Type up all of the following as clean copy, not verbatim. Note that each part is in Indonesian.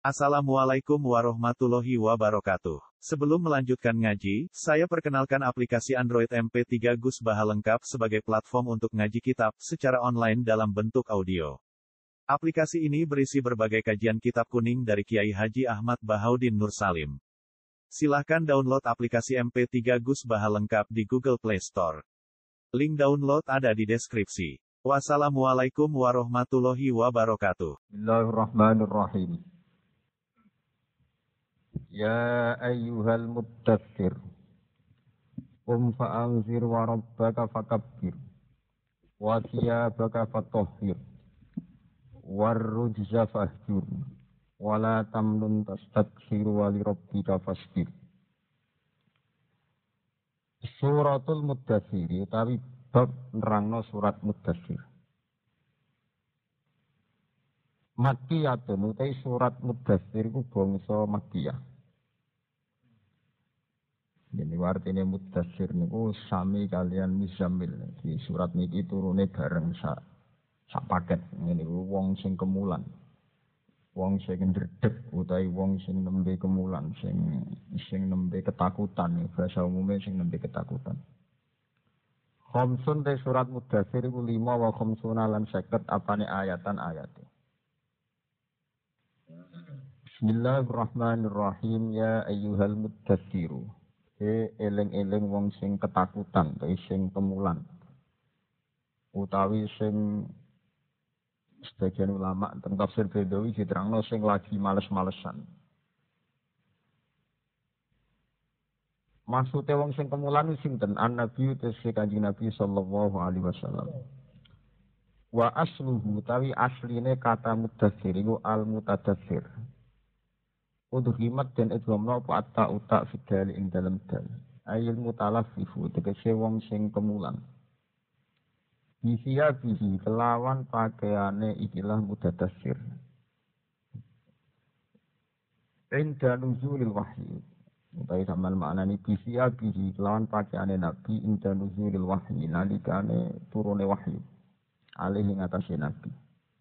Assalamualaikum warahmatullahi wabarakatuh. Sebelum melanjutkan ngaji, saya perkenalkan aplikasi Android MP3 Gus Baha lengkap sebagai platform untuk ngaji kitab secara online dalam bentuk audio. Aplikasi ini berisi berbagai kajian kitab kuning dari Kiai Haji Ahmad Bahaudin Nur Salim. Silahkan download aplikasi MP3 Gus Baha lengkap di Google Play Store. Link download ada di deskripsi. Wassalamualaikum warahmatullahi wabarakatuh. Bismillahirrahmanirrahim. Ya ayyuhal muddaththir qum fa'anzir wa rabbaka fakabbir wa thiyabaka fatahhir warrujza fahjur wa la tamnun tastakthir wa li rabbika fasbir. Suratul Muddaththir utawi bab nerangno surat Muddaththir. Makkiyatun utai surat Muddaththir iku bangsa Makkiyah. Jadi artinya Muddaththir niku sami kalian Muzammil. Di surat niki turune bareng sak paket. Ngene wong sing kemulan. Wong sing ndredeg utawi wong sing nembe kemulan, sing nembe ketakutan, bahasa umumnya sing nembe ketakutan. Khamsun te surat Muddaththir iku 5 wa khamsuna lan 50 apane ayatan-ayate. Bismillahirrahmanirrahim. Ya ayyuhal muddaththir. Eling-eling wong sing ketakutan, sing kemulan. Utawi sing sebagian ulama tentang tafsir Bedawi diterangno sing lagi males-malesan. Maksudnya wong sing kemulan sinten? An-Nabi tesih Kanjeng Nabi sallallahu alaihi wasallam. Wa asluhu tawi asline kata muddaththir iku al-mutadaththir. Udhimat dan idghamna apa atta uta fidal ing dalam dal. Ayil mutalaffifu tegese wong sing kemulan. Bisiya bihi kelawan pakaiane ikilah mutadaththir. Inda nuzulil wahyi. Utawi samal maknane bisiya bihi kelawan pakaiane nabi inda nuzulil wahyi nalikane turune wahyu. Alih ing atase nabi.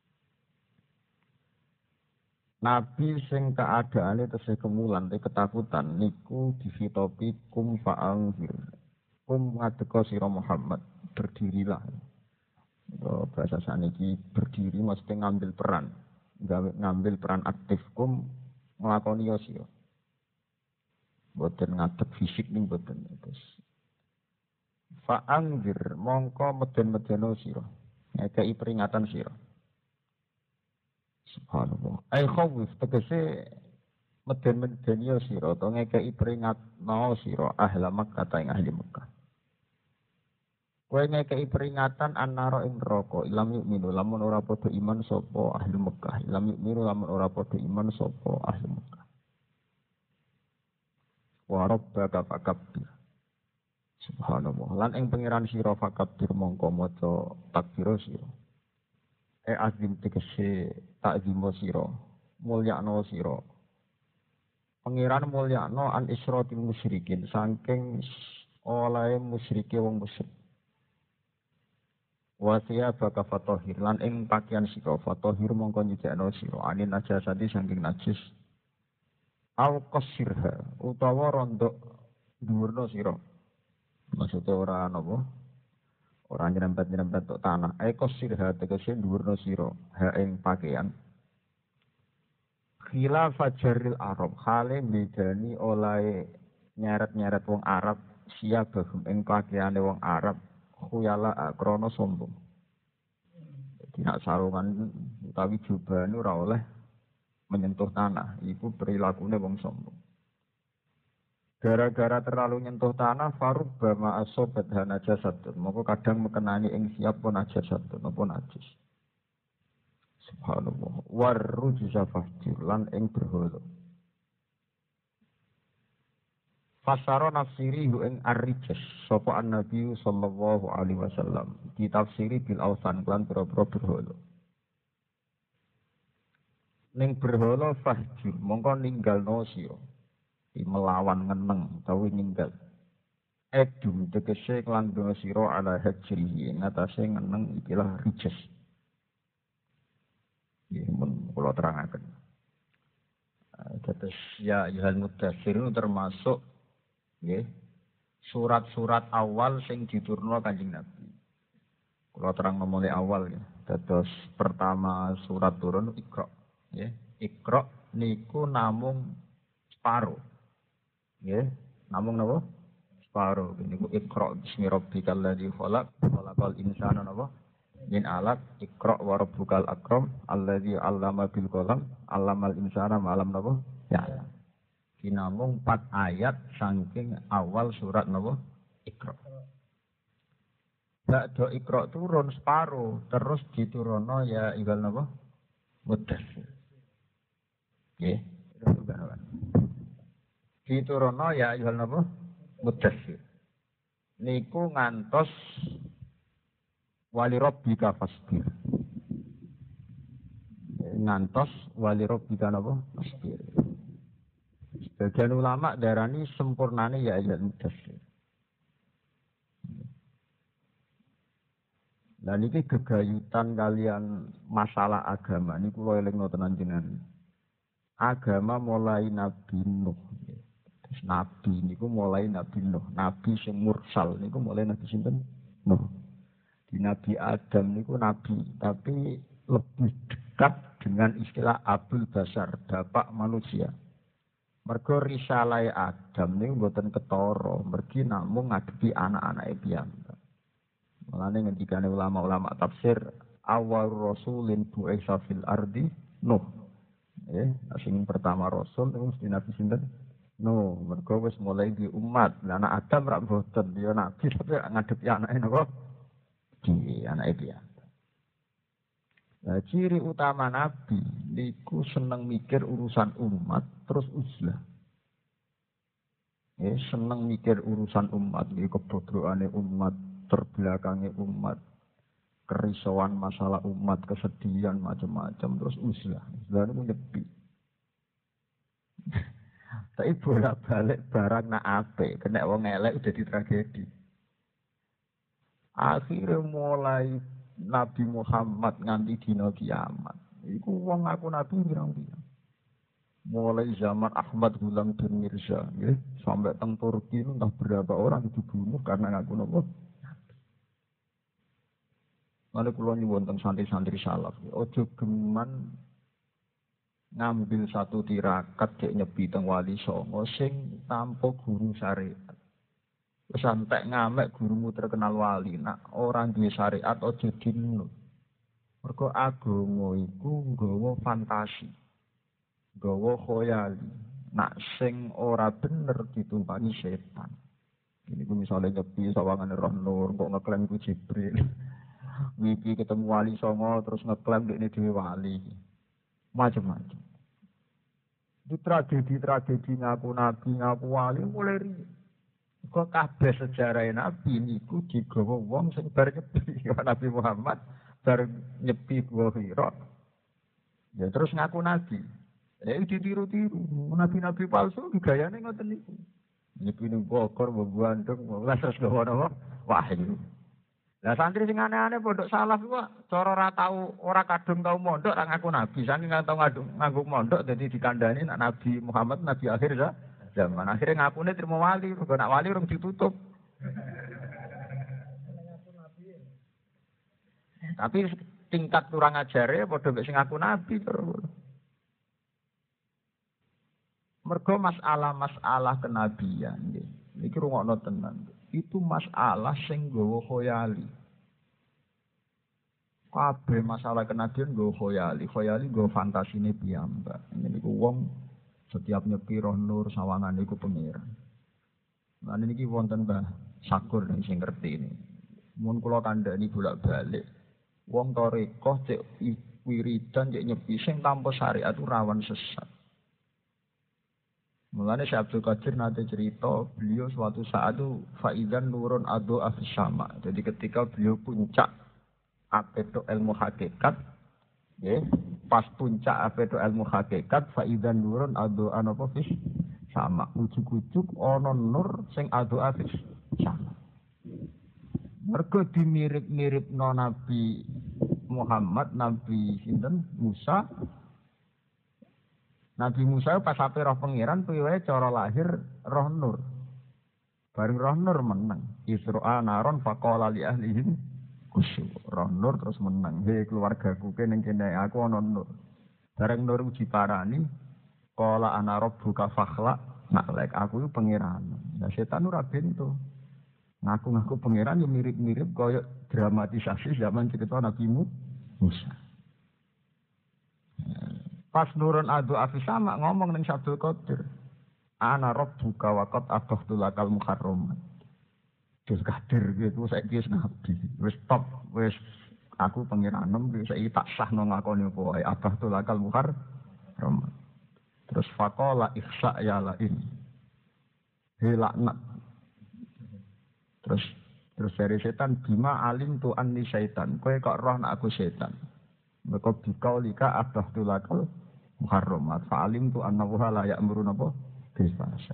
Nabi sing keadaane tesih kemulan te ketakutan niku difitopi kum fa'anzir. Kum ngadeka sira Muhammad, berdirilah. Bahasa saniki berdiri mesti ngambil peran. Ngambil peran aktif kum nglakoni yo sira. Boten ngadeg fisik ning boten terus. Fa'anzir mongko meden-medeno sira. Ngekeki peringatan sira. Subhanallah. Ai khawif tegese meden-meden ya sira to ngekeki peringatno sira ahli Makkah ta ing ahli Makkah. Kowe ngekeki peringatan annara ing neraka ilam yu'minu lamun ora padha iman sapa ahli Makkah. Ilam yu'minu lamun ora padha iman sapa ahli Makkah. Wa rabbaka fakabbir. Subhanallah. Lan ing pangeran sira fakabbir mongko maca takbir sira. Azim tegese takzimo sira mulyakno sira pangeran mulyakno an isratil musyrikin saking olahe musyrike wong musyrik wasiya baka fatahir lan ing pakaian sira fatahir mongko nyucikno sira anin najasati saking najis au qasirha utawa rondok dhuwurna sira maksud ora napa ora nyerempet-nyerempet tok tanah. Eko sirha tegese dhuwurna sira ha ing pakaian. Khilaf fajaril Arab hale bedani olahe nyeret-nyeret wong Arab siap bagum ing pakaiane wong Arab khuyala krana sombong. Dadi nek sarungan utawi jubahane ora oleh menyentuh tanah, iku perilakune wong sombong. Gara-gara terlalu nyentuh tanah, farub bama asobat najasatun. Maka kadang mekenani ing siap pun najasatun, pun najis. Subhanallah. Warrujza fahjur lan ing berhala. Fasara nafsiri hu ing ar-rijs. Sapa an-nabi sallallahu alaihi wasallam. Ditafsiri bil awsan lan pira-pira berhala. Ning berhala fahjur, mongko ninggalno sira. Melawan ngeneng utawi ninggal. Edum tegese klandha sira ala hajrihi ngatasé ngeneng ikilah rijs. Nggih mun kula terangaken. Terus ya ayyuhal mudaththir termasuk nggih surat-surat awal sing diturunno Kanjeng Nabi. Kula terang mulai awal ya. Terus pertama surat turun Iqra. Nggih, Iqra niku namung separo. Nggih, namung napa? Separo. Niku Iqra bismi rabbikal ladzi khalaq, khalaqal insana napa? Min alaq, Iqra wa rabbukal akram, alladzi 'allama bil qalam, 'allamal insana ma lam napa? Ya. Kinamung 4 ayat saking awal surat napa? Iqra. Ba'da Iqra turun separo, terus diturunno ya iqal napa? Mudaththir. Nggih, diturunno ya iqal napa? Mudaththir. Niku ngantos wali rabbika fasbir. Ngantos wali rabbika napa? Fasbir. Sebagian ulama darani sempurnane ya ayat mudaththir. Lah niki gegayutan kalian masalah agama niku kula elingno tenan jenengan. Agama mulai Nabi Nuh. Terus Nabi niku mulai Nabi Nuh. Nabi sing mursal niku mulai Nabi sinten? Nuh. Di Nabi Adam niku nabi, tapi lebih dekat dengan istilah Abul Basar, bapak manusia. Mergo risalah Adam niku mboten ketara, mergi namung ngadepi anak-anake piyambak. Mulane ngendikane ulama-ulama tafsir, awal rasulin bu'isa fil ardi Nuh. Sing pertama rasul niku mesti Nabi sinten? Nuh. Mergo wis mulai di umat. Lah anak Adam rak mboten, ya nabi tapi ngadepi anake napa? Di anake piyambak. Nah, ciri utama Nabi niku seneng mikir urusan umat terus uzlah. Seneng mikir urusan umat, niku kebodroane umat, terbelakange umat, kerisauan masalah umat, kesedihan macam-macam terus uzlah. Uzlah niku nyepi. Tapi bolak-balik barang nak apik, kena wong elek udah di tragedi. Akhirnya mulai Nabi Muhammad nganti dina kiamat. Iku wong ngaku nabi pirang-pirang. Mulai zaman Ahmad Gulam bin Mirza, ya, sampai teng Turki entah berapa orang dibunuh karena ngaku nabi. Mane kula nyuwun teng santri-santri salaf, ojo geman ngambil satu tirakat cek nyepi teng Wali Songo sing tanpa guru syariat. Wis antek ngamek gurumu terkenal wali, nak orang duwe syariat aja dinut. Mergo agama iku nggawa fantasi. Nggawa khoyali. Nak sing ora bener ditumpangi setan. Ini ku misalnya nyepi sawangane Roh Nur kok ngeklaim ku Jibril. Wiki ketemu Wali Songo terus ngeklaim dekne dhewe wali. Macam-macam. Itu tragedi-tragedi ngaku nabi, ngaku wali mulai riyen. Kok kabeh sejarah Nabi niku digawa wong sing bar nyepi Nabi Muhammad bar nyepi Gua Hira. Ya terus ngaku nabi. Ditiru-tiru nabi-nabi palsu gayane ngoten niku. Nyepi ning Bogor, Bandung, lah terus gawa napa? Wahyu. Lah santri sing aneh-aneh pondok salaf iku cara ora tau ora kadung tau mondok ra ngaku nabi. Saking tau nganggo mondok dadi dikandani nak Nabi Muhammad nabi akhir zaman. Akhirnya ngakune terima wali, mergo nak wali urung ditutup. Tapi tingkat kurang ajare padha mek sing ngaku nabi terus. Mergo masalah kenabian nggih. Niki rungokno tenan. Itu masalah sing nggawa khoyali. Kabeh masalah kenabian nggawa khoyali. Khoyali nggawa fantasine piyambak. Niku wong setiap nyepi Roh Nur sawangan iku pengiran. Lan niki wonten Mbah Sakur sing ngerti ini. Mun kula kandhani bolak-balik. Wong tarekah cek wiridan cek nyepi sing tanpa syariat itu rawan sesat. Mulane Syekh Abdul Qadir nate cerita, beliau suatu saat itu faizan nurun adu afis sama. Jadi ketika beliau puncak apeto ilmu hakikat, ya, pas puncak apeto ilmu hakikat, faizan nurun adu anapa fis sama. Ujuk-ujuk ana nur sing adu afis sama. Mergo dimirip-miripno Nabi Muhammad, Nabi sinten Musa. Nabi Musa pas ape roh pangeran piye cara lahir roh nur. Bareng roh nur menang. Isra naron faqala li ahlihim kusu. Roh nur terus menang. Hei keluargaku ning kene aku ana nur. Bareng nur uji parani qala ana rabbuka fakhla. Nak lek aku itu pangeran. Nah setan ora bento. Ngaku-ngaku pangeran yo mirip-mirip kaya dramatisasi zaman cerita Nabi Musa. Pas nurun adu afisama ngomong ning Abdul Qadir. Ana rabbuka wa qad akhadtu lakal muharramat. Abdul Qadir gitu saiki wis nabi. Wis top, wis aku pangeranem wis saiki tak sahno ngakoni apa wae akhadtu lakal muharramat. Terus faqala ihsa ya lain. Hilaknat. Terus dari setan bima alim tu anni syaitan. Kowe kok roh nak aku setan. Maka bikaulika akhadtu lakal muharramat. Fa'alim tu annahu la ya'muru napa bisfahsya.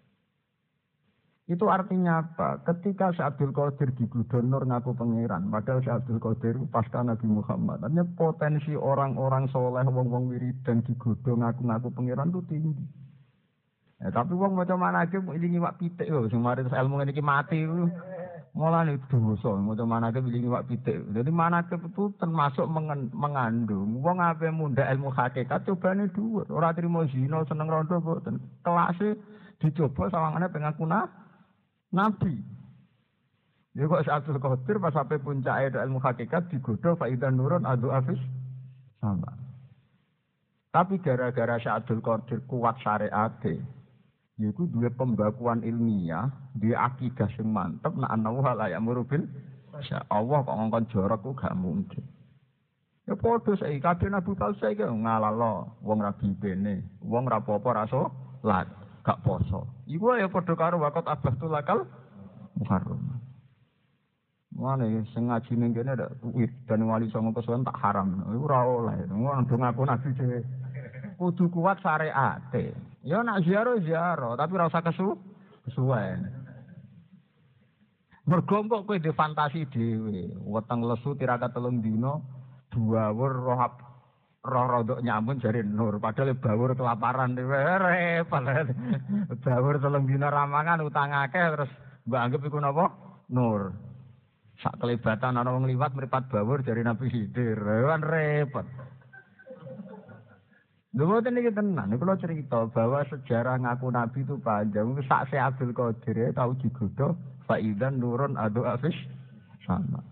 Itu artinya apa? Ketika Syekh Abdul Qadir digodho nur ngaku pangeran, padahal Syekh Abdul Qadir pasca Nabi Muhammad. Artinya potensi orang-orang soleh, wong-wong wiridan digodho ngaku-ngaku pangeran itu tinggi. Ya, tapi wong maca manake ilingi wak pitik lho, sing mari ilmu ngene iki mati ku. Mulane dosa, maca manake ilingi wak pitik. Jadi manake itu termasuk mengandung wong ape mundhak ilmu hakikat cobane dhuwur. Ora trimo zina seneng rondo mboten. Kelase dicoba sawangane pengaku Nabi. Ya kok Abdul Qadir pas sampai puncake ilmu hakikat digodho faidan nurun adu afis sama. Tapi gara-gara Abdul Qadir kuat syariate, yaiku duwe pembakuan ilmiah, duwe akidah sing mantep nek ana la ya murubil Allah kok ngongkon jorok ku gak mungkin. Ya padha saiki kabeh Nabi palsu iki ngalalo wong ra bibene, wong ra apa-apa ra salat. Gak poso. Iku ya padha karo wakot abahtul lakal muharram. Mane sing ngaji ning kene ada wit dan wali songo kesuwen tak haram. Iku ora oleh. Ngono dong aku nabi dhewe. Kudu kuat syariate. Ya nak ziarah, tapi ora usah kesuwen. Mergo kok kowe fantasi dhewe, weteng lesu tirakat 3 dina, duwur roh rodok nyamun jari nur padahal bawur kelaparan repot bawur 3 dina ramangan utang akeh terus mbak anggap iku napa nur sak kelibatan ana wong liwat mripat bawur jari Nabi Khidir kan repot lho mboten iki tenan kula cerita bahwa sejarah ngaku nabi itu panjang sak Syekh Abdul Qadir tau digodho faidan nurun adu afis sama.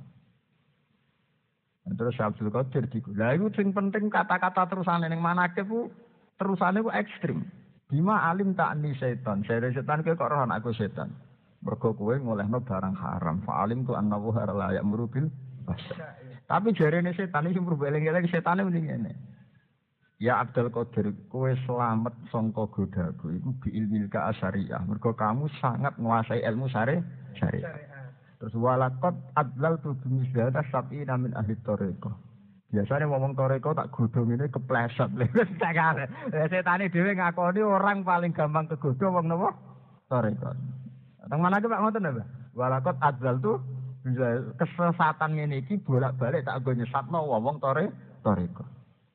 Terus Abdul Qadir digula. Iku sing penting kata-kata terusane ning manakib ku terusane ku ekstrim. Bima alim ta'ni setan. Setan kowe kok roh aku setan. Mergo kowe ngolehno barang haram. Fa alim tu annahu la ya'muru bil fasya. Tapi jarene setan iki mrubu eling-eling setane muni ngene. Ya Abdul Qadir, kowe selamat sangka godaku iku bi ilmil ka asyariah. Mergo kamu sangat menguasai ilmu syariah. Terus walakot adlal tu bimisdata sab'ina min ahli toreko. Biasanya ngomong toreko tak godhong ini kepleset. Setane dhewe ngakoni orang paling gampang kegodho wong napa? Toreko. Teng manake Pak ngoten lho, Pak. Walakot adlal tu kesesatan ngene iki bolak-balik tak nggo nyesatno wong toreko.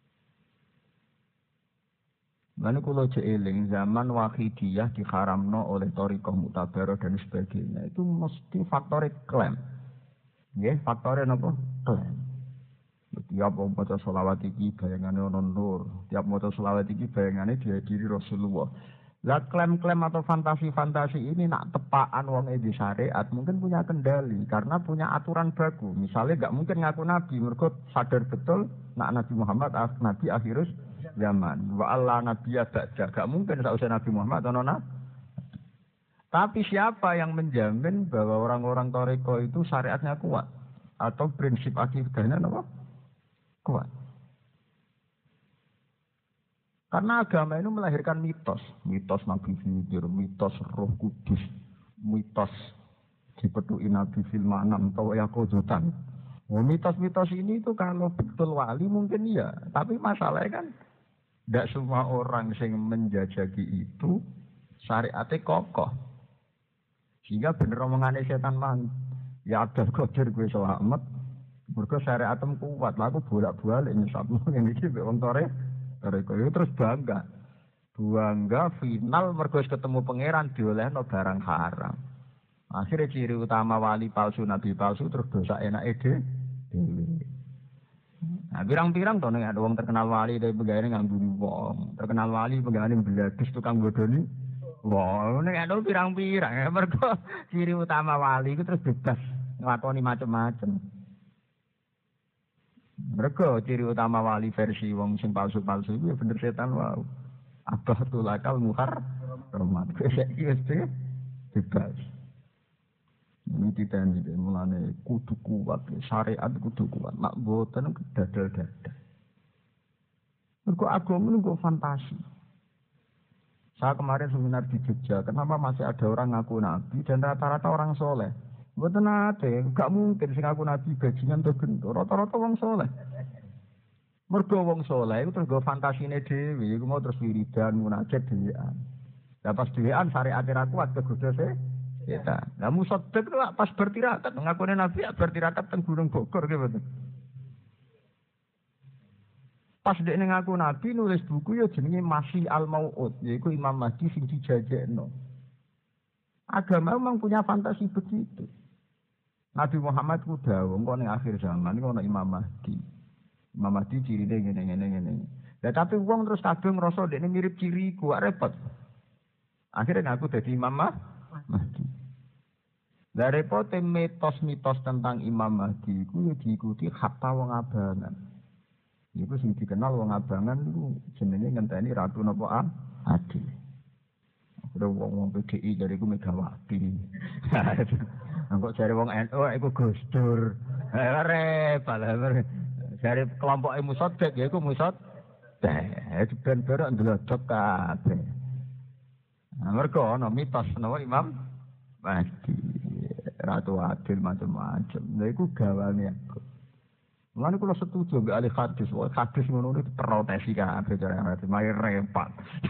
Lalu kalau jeeling zaman Wahidiyah diharamno oleh Thariqah Mu'tabarah dan sebagainya itu mesti faktor klaim. Ya, faktornya apa? Klaim. Tiap maca selawat iki bayangane ana nur, tiap maca selawat iki bayangane dihadiri Rasulullah. Lah klaim-klaim atau fantasi-fantasi ini nak tepaan wong di syariat mungkin punya kendali karena punya aturan baku. Misalnya enggak mungkin ngaku nabi mergo sadar betul nak Nabi Muhammad nabi akhirus zaman wa Allah nabiyya ba'da gak mungkin sausé Nabi Muhammad ana. Tapi siapa yang menjamin bahwa orang-orang Thariqah itu syariatnya kuat atau prinsip akidahnya apa? Kuat. Karena agama ini melahirkan mitos Nabi Khidir, mitos Roh Kudus, mitos dipetuki Nabi fil manam atau yakodotan. Mitos-mitos ini itu kalau betul wali mungkin iya, tapi masalahnya kan tidak semua orang yang menjajaki itu syariatnya kokoh. Sehingga bener omongannya setan man. Ya Abdul Qadir gue selamat. Mergo syariatem kuat. Lah aku bolak-balik nyesatno ngene iki mbek wong Thariqah terus bangga. Buangga final mergo ketemu pangeran diolehno barang haram. Akhirnya ciri utama wali palsu, nabi palsu terus dosa enake dhewe. Nah, pirang-pirang to nek ada wong terkenal wali tapi pegawene ngambuni wong. Terkenal wali pegawene bladus tukang bodoni. Wah, nek ada pirang-pirang mergo ciri utama wali itu terus bebas nglakoni macam-macam. Mergo ciri utama wali versi wong sing palsu-palsu itu ya bener setan wae. Abah tulakal muhar rahmat. Saiki wis bebas. Ini ditanya, mulane kudu kuat, syariat kudu kuat. Nak boten dadal-dadal. Mergo agama niku fantasi. Saya kemarin seminar di Jogja, kenapa masih ada orang ngaku nabi dan rata-rata orang soleh? Boten ate, gak mungkin sing ngaku nabi bajingan to gendho, rata-rata wong soleh. Mergo wong soleh iku terus go fantasine dhewe, iku mau terus wiridan munajat dhewean. Lah pas dhewean syariat ra kuat kegoda setan. Lah musaddiq itu pas bertirakat ngakune nabi bertirakat teng Gunung Bogor nggih mboten. Pas dekne ngaku nabi nulis buku ya jenenge Masih Al-Mau'ud, yaiku Imam Mahdi sing dijajekno. Agama memang punya fantasi begitu. Nabi Muhammad ku dawuh engko ning akhir zaman iku ana Imam Mahdi. Imam Mahdi cirine ngene. Lah tapi wong terus kabeh ngrasa dekne mirip ciriku, repot. Akhirnya ngaku dadi Imam Mahdi. Lah repote mitos-mitos tentang Imam Mahdi iku diikuti hatta wong abangan. Iku sing dikenal wong abangan iku jenenge ngenteni Ratu napa Adil. Ada wong PDI dari iku Megawati. Engko jare wong NU iku Gus Dur. Repot. Jare kelompoke Musaddiq ya iku Musaddiq. Ben berok ndlodok kabeh. Mergo ana mitos napa Imam Mahdi. Ratu Adil macam-macam. Lha iku gawane aku. Mulane kula setuju mbek ahli hadis. Wah, hadis ngono iki protesi kabeh cara hadis. Mari repot.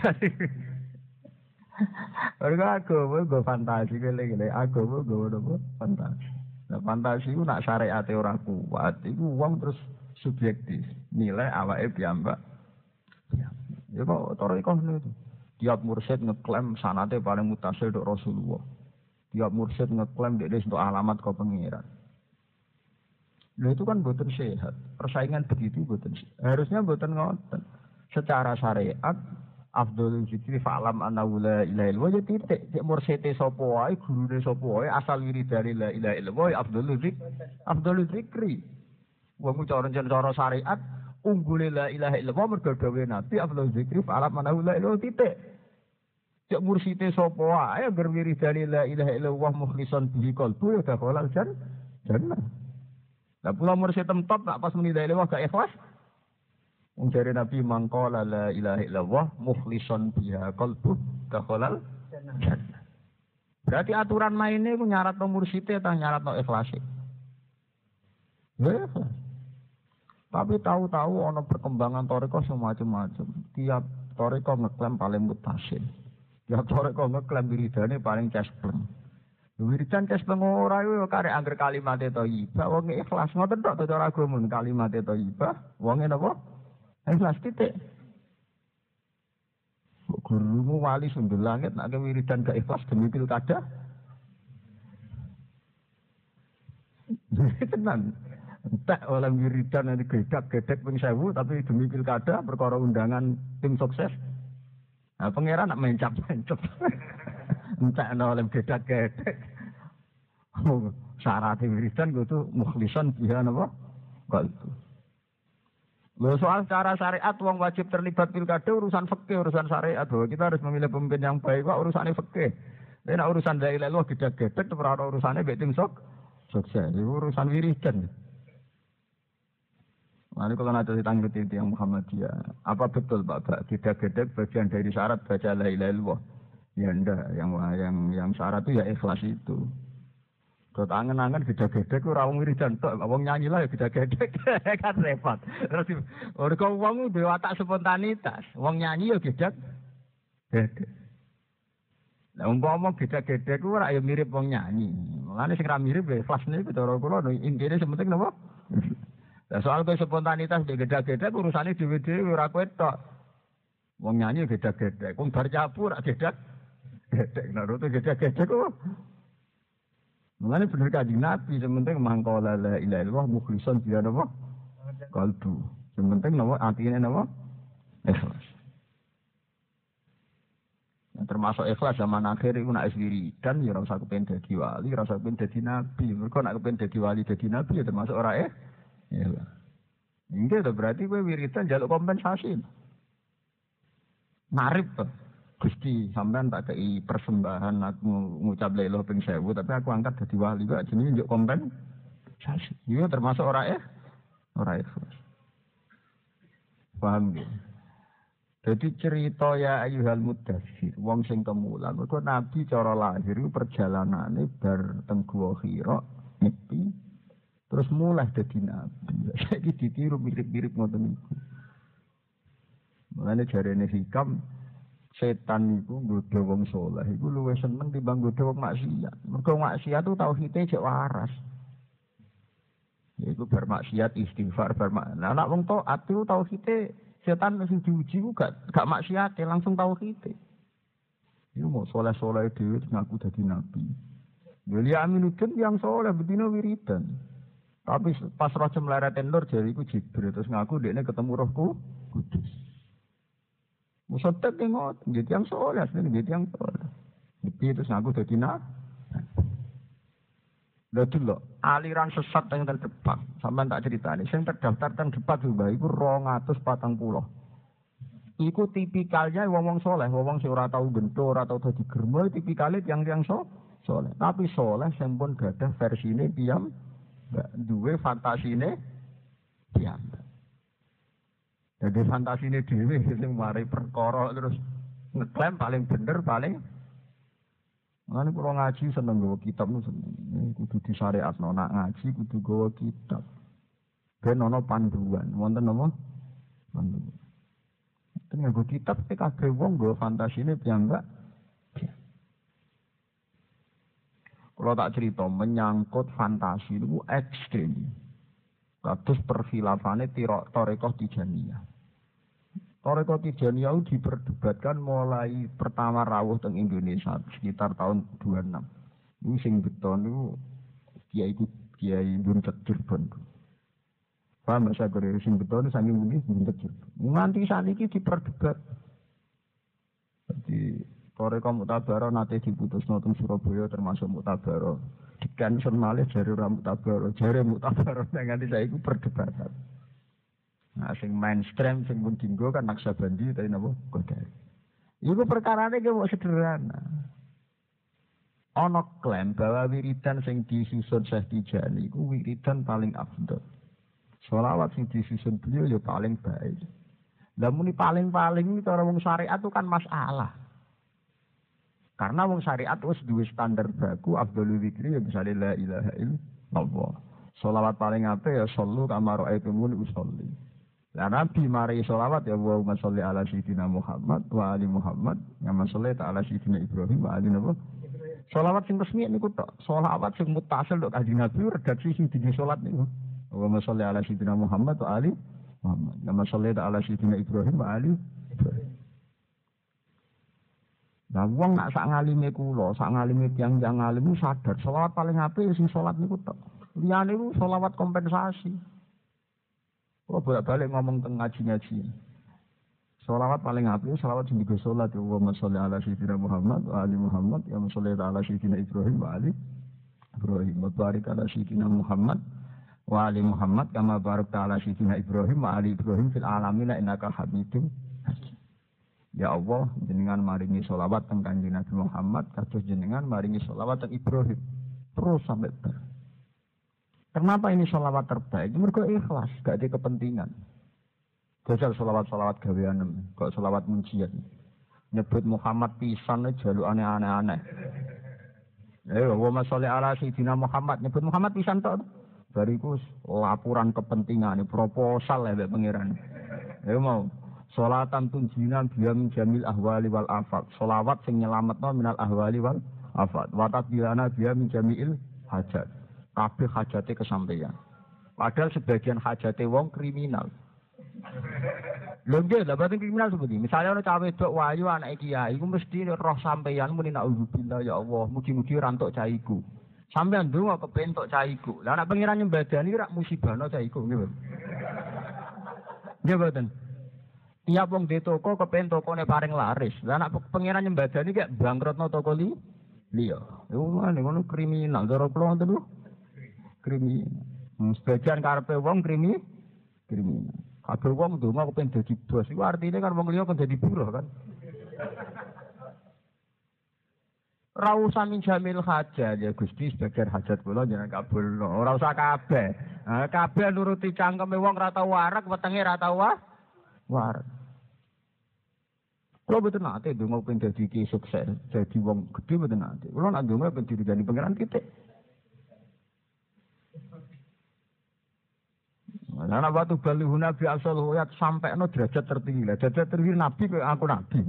Ora aku go fantasi gele-gele. Aku go fantasi. Nah, fantasi ku nak syariate ora kuat, iku wong terus subjektif. Nilai awake piyambak. Ya kok toriko ngono itu. Tiap mursyid ngeklaim sanate paling mutasil untuk Rasulullah. Tiap mursyid ngeklaim dia untuk alamat kau pengiran. Nah itu kan boten sehat. Persaingan begitu boten sehat. Harusnya boten ngoten. Secara syariat, afdhalul zikri fa'lam annahu la ilaha illallah ya titik. Cek mursyide sapa wae, gurune sapa wae, asal wiridane la ilaha illallah afdhalul zikri. Wong cara syariat, unggule la ilaha illallah mergo dawuhe Nabi afdhalul zikri fa'lam annahu la ilaha titik. Cek mursite sapa wae agar wiridane la ilaha illallah mukhlishan bihi qalbu ya dakhalal jannah. Lah pula mursid tempat nak pas muni la ilaha gak ikhlas. Wong jare Nabi mangqala la ilaha illallah mukhlishan biha qalbu dakhalal jannah. Berarti aturan maine ku nyaratno mursite ta nyaratno ikhlase. Ya. Tapi tahu-tahu ana perkembangan thariqah semacam-macam. Tiap thariqah ngeklaim paling mutasil. Ya toreko ngeklaim wiridane paling cespleng. Wiridan cespleng ora yo karek angger kalimate thayyibah wong ikhlas ngoten tok cara agama kalimate thayyibah wonge napa? Ikhlas titik. Gurumu wali sundul langit nek wiridan gak ikhlas demi pilkada. Tenan. Tak oleh wiridan nanti gedek ping 1000 tapi demi pilkada perkara undangan tim sukses. Nah, pangeran nak mencap-mencap. Entah oleh gedek-gedek. Syarat wiridan kudu mukhlishan biha napa? Kok itu. Lho soal cara syariat wong wajib terlibat pilkada urusan fikih, urusan syariat. Kita harus memilih pemimpin yang baik kok urusane fikih. Nek urusan la ilaha illallah gedek-gedek ora urusane mbek tim sukses. Itu urusan wiridan. Mari kalau nanti ditanggapi yang Muhammadiyah, apa betul Pak? Gedek-gedek bagian dari syarat baca la ilaha illallah? Ya enggak, yang syarat itu ya ikhlas itu. Kalau angen-angen gedek-gedek ora wong wiridan tok, wong nyanyi lah ya gedek-gedek kan repot. Terus kok wong duwe watak spontanitas, wong nyanyi ya gedek. Lah umpama gedek-gedek ora ya mirip wong nyanyi. Mulane sing ra mirip ya ikhlas niku cara kula intine sementing napa? Lah soal ke spontanitas di gedek-gedek urusane dhewe-dhewe ora kowe tok. Wong nyanyi gedhe-gedhe, wong bar cabur gedhe-gedhe. Naruto gedhe-gedhe kok. Mulane bener Kanjeng Nabi, sementing mangkola la ilaha illallah mukhlishon biya napa? Kalbu. Sementing napa atine napa? Ikhlas. Nah, termasuk ikhlas zaman akhir iku nek wiridan ya ora usah kepen dadi wali, ora usah kepen dadi nabi. Mergo nek kepen dadi wali dadi nabi ya termasuk ora ikhlas. Enggak to berarti kowe wiridan njaluk kompensasi. Narip to. Gusti sampean tak kei persembahan aku ngucap la ilaha ping 1000 tapi aku angkat dadi wali kok jenenge njuk kompensasi. Iya termasuk ora ikhlas. Paham ya? Jadi cerita ya ayyuhal muddatsir, wong sing kemulan, mergo Nabi cara lahir iku perjalanane bar teng Guwa Hira, nyepi, terus mulai dadi nabi. Saiki ditiru mirip-mirip ngoten niku. Mulane jarene hikam setan iku nggodha wong saleh iku luwih seneng timbang nggodha wong maksiat. Mergo maksiat itu tauhide cek waras. Yaiku bermaksiat istighfar bermakna. Nek wong taat itu tauhide setan sing diuji ku gak maksiat langsung tauhide. Iku mau saleh-saleh dhewe ngaku dadi nabi. Wali aminuddin yang saleh bedino wiridan. Tapi pas roh cemleraten nur jari iku Jibril terus ngaku dekne ketemu Rohku Kudus. Musotek tengok, jadi yang soleh, jadi yang soleh. Jadi terus ngaku jadi Lalu loh, aliran sesat yang terdepak, sampai tak cerita ini. Yang terdaftar terdepak juga, itu 240. Iku tipikalnya wong soleh, wong sing ora tau gento, ora tau dadi germo, tipikalnya yang soleh. Tapi soleh yang pun gak ada versinya diam, duwe fantasine diam. Jadi fantasi ini dewi, sing mari perkara terus ngeklaim paling bener paling. Mana kalau ngaji seneng gawa kitab nu seneng. Kudu disyariatno nak ngaji kudu gawa kitab. Ben ono panduan, wonten apa? Panduan. Ten nggo kitab kabeh wong gawa fantasine piyambak. Kalau tak cerita menyangkut fantasi itu ekstrim. Kados perfilafane Thariqah Tijaniyah. Thariqah Tijaniyah itu diperdebatkan mulai pertama rawuh teng Indonesia sekitar tahun 26. Ini sing beton itu Kiai Buntet Cirebon. Paham saya kira sing beton itu saking bunyi Buntet Cirebon. Nganti saniki diperdebat. Jadi Thariqah Mu'tabarah nate diputusno teng Surabaya termasuk Mu'tabarah. Dikansen malih jare ora Mu'tabarah, jare Mu'tabarah nganti saiki perdebatan. Nah, sing mainstream sing pun dinggo kan Naksabandi tapi napa Qadari. Iku perkarane ki kok sederhana. Ana klaim bahwa wiridan sing disusun Syekh Tijani iku wiridan paling afdal. Sholawat sing disusun beliau ya paling baik. Lah muni paling-paling iki cara wong syariat itu kan masalah. Karena wong syariat wis duwe standar baku afdhalul dzikri ya misale la ilaha illallah. Sholawat paling apik ya sallu kama ra'aitumuni usolli. Lah Nabi mari sholawat ya Allahumma sholli ala sayyidina Muhammad wa ali Muhammad, kama shallaita ala sayyidina Ibrahim wa ali Nabi. Sholawat sing resmi niku tok. Sholawat sing mutasil tok Kanjeng Nabi redaksi sing dene salat niku. Allahumma sholli ala sayyidina Muhammad wa ali Muhammad, kama shallaita ala sayyidina Ibrahim wa ali Ibrahim. Lah wong nak sak ngalime kula, sak ngalime tiyang-tiyang ngalim sadar selawat paling apik sing salat niku tok. Liyane niku selawat kompensasi. Kula bolak-balik ngomong teng ngaji-ngaji. Selawat paling apik selawat sing digo salat ya Allahumma sholli ala sayyidina Muhammad wa ali Muhammad ya sholli ala sayyidina Ibrahim wa ali Ibrahim wa barik ala sayyidina Muhammad wa ali Muhammad kama barakta ala sayyidina Ibrahim wa ali Ibrahim fil alamin innaka Hamidum. Ya Allah, jenengan maringi sholawat teng Kanjeng Nabi Muhammad, kados jenengan maringi sholawat teng Ibrahim. Terus sampai ber. Kenapa ini sholawat terbaik? Mergo ikhlas, gak ada kepentingan. Jajal sholawat-sholawat gaweanem, kok sholawat mujiat. Nyebut Muhammad pisan jalukane aneh-aneh. Allahumma sholli ala sayyidina Muhammad, nyebut Muhammad pisan tok. Bariku laporan kepentingan, proposal ya pangeran. Mau sholatan tunjinan biya min jamil ahwali wal afat. Sholawat sing nyelametno minal ahwali wal afat. Wa tabilana biya min jamil hajat. Kabeh hajate kesampaian. Padahal sebagian hajate wong kriminal. Lho nggih, lha boten kriminal seperti. Misalnya ana cawe wedok wayu anake kiai, iku mesti roh sampeyan muni naudzubillah ya Allah, mugi-mugi ora entuk cah iku. Sampeyan ndonga kepentok cah iku. Lah nek pangeran nyembadani rak musibahno cah iku nggih. Nggih boten. Tiap wong di toko kepen tokone paring laris. Lah nek pangeran nyembadani kek bangkrutno toko liya. Iku ngono kriminal cara kula ngoten lho. Kriminal. Sebagian karepe wong kriminal. Kabeh wong ndonga kepen dadi bos. Iku artine kan wong liya kan dadi buruh kan. Ora usah minjamil hajat ya Gusti sebagian hajat kula jenengan kabulno. Ora usah kabeh. Kabeh nuruti cangkeme wong ora tau warak, wetenge ora tau warak. Kula boten nate ndonga pengen dadi ki sukses, dadi wong gedhe boten nate. Kula nak ndonga pengen diridani pangeran titik. Nah, ana watu balihuna bi asal huyat sampai no derajat tertinggi. Lah derajat tertinggi nabi kok aku nabi.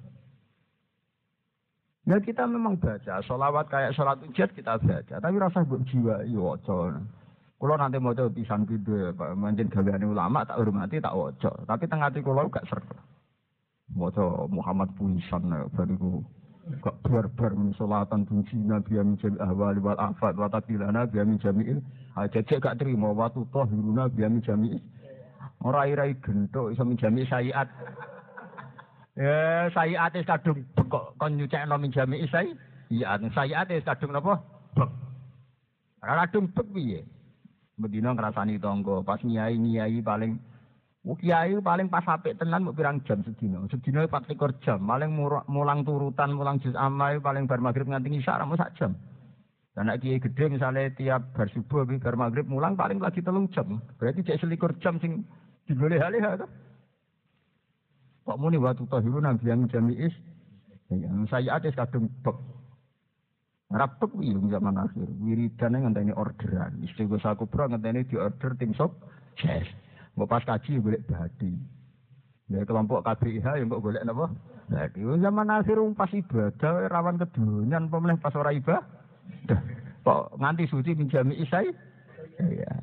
Ya kita memang baca sholawat kayak sholat ujat kita baca, tapi rasa mbok jiwa yo waca. Kula nanti maca pisan pindho Pak, manjen gaweane ulama tak hormati tak waca, tapi teng ati kula gak sreg. Maca Muhammad Puisan bariku gak barbar min sholatan tunsina biya min jami ahwali wal afat wa tatilana biya min jami'il ajajek gak trimo watu tahiruna biya min jami'il ora irai gentuk iso min jami'il sayiat. Ya sayiat wis kadung kok kon nyucekno min jami'il sayiat wis kadung napa? Bek. Ora kadung bek piye? Bedina ngrasani tangga, pas nyai paling kiai paling pas apik tenan mbok pirang jam sedina. Sedina 24 jam, paling mulang turutan, mulang juz amma paling bar magrib nganti isya ra sak jam. Dan nek kiai gedhe misale tiap bar subuh bar magrib mulang paling lagi 3 jam. Berarti cek 21 jam sing digoleh-goleh to. Kok muni watu tahirun nang biang jami'is. Ya, saya ates kadung bek. Rapek iki zaman akhir. Wiridane ngenteni orderan. Istighosah kubra ngenteni diorder tim sukses. Mbok pas kaji golek badi. Ya kelompok KBIH yang mbok golek napa? Badi. Zaman akhir pas ibadah rawan kedonyan pemeneh pas ora ibadah. Kok nganti suci minjami isai? Ya.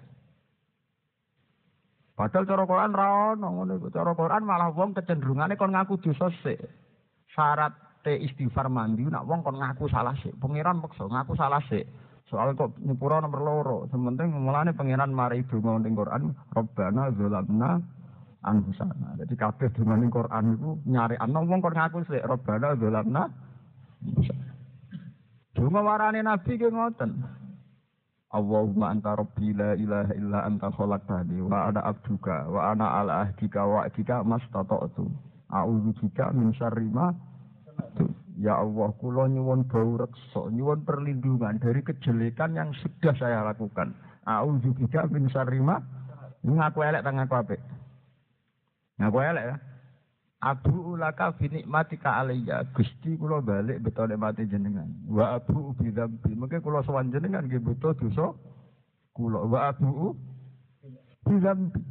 Padahal cara Quran ra ono ngono iku. Cara Quran malah wong kecenderungane kon ngaku dosa sik. Syarat istighfar mandi nak wong kon ngaku salah sik. Pangeran peksa ngaku salah sik. Soal kok nyepura nomor loro. Sementing mulane pangeran mari donga ning Quran, Rabbana zalamna anfusana. Jadi kabeh donga ning Quran iku nyarikno wong kon ngaku sik Rabbana zalamna anfusana. Donga warane nabi ki ngoten. Allahumma anta rabbi la ilaha illa anta khalaqtani wa ana abduka wa ana ala ahdika wa ahdika mastata'tu. A'udzu bika min syarri ma. Ya Allah, kula nyuwun bau reksa, nyuwun perlindungan dari kejelekan yang sudah saya lakukan. A'udzu bika min syarri ma. Ngaku elek ta ngaku apik? Ngaku elek ya. Abu ulaka bi nikmatika alayya. Gusti kula balik beto nikmate jenengan. Wa abu bi dzambi. Mengke kula sowan jenengan nggih beto dosa kula. Wa abu bi dzambi.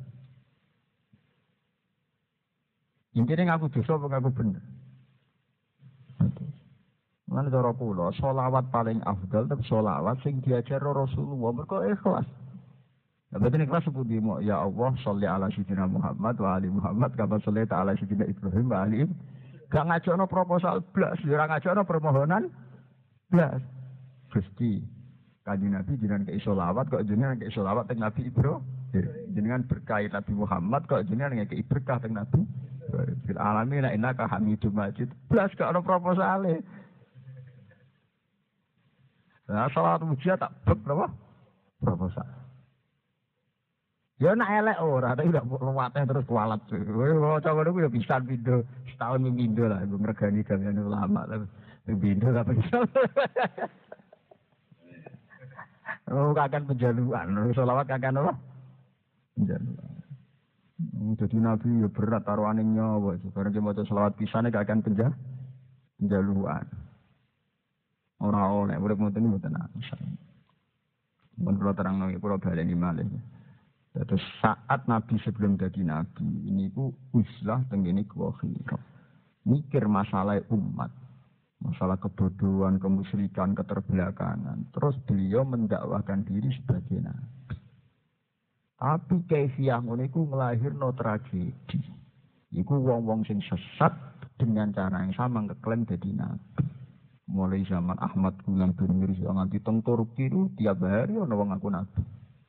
Intine ngaku dosa apa ngaku bener? Lan cara kula selawat paling afdal tapi selawat sing diajar Rasulullah mergo ikhlas. Nah, betul ikhlas sepundi mo ya Allah sholli ala sayyidina Muhammad wa ali Muhammad kama shollaita ala sayyidina Ibrahim wa ali. Gak ngajakno proposal blas, ora ngajakno permohonan blas. Gusti Kanjeng Nabi jenengan ke selawat kok jenengan ke selawat teng Nabi Ibrahim. Jenengan berkah Nabi Muhammad kok jenengan ke berkah teng Nabi. Fil alamin innaka Hamidum Majid. Blas gak ono proposale. Nah, salat mujiat tak bek napa? Proposal. Ya nak elek ora, tapi udah ruwatnya terus kualat. Wah, coba dulu ya bisa pindo, setahun pindo lah, ngregani gaweane ulama lah. Pindo apa bisa. Oh, kakan penjaluan, selawat kakan apa? Penjaluan. Jadi Nabi ya berat taruhane nyawa, bareng ki maca selawat pisane kakan penjaluan. Ora oleh urip ngoten mboten ana. Mun kula terangno kula baleni malih. Terus saat Nabi sebelum jadi Nabi, ini ku uslah tenggene kuwakhira. Mikir masalah umat, masalah kebodohan, kemusyrikan, keterbelakangan. Terus beliau mendakwahkan diri sebagai Nabi. Tapi kaifiah ngono iku nglahirno tragedi. Iku wong-wong sing sesat dengan cara yang sama ngeklaim dadi nabi. Mulai zaman Ahmad Gulam Dunir nganti teng Turki itu tiap hari ana wong ngaku nabi.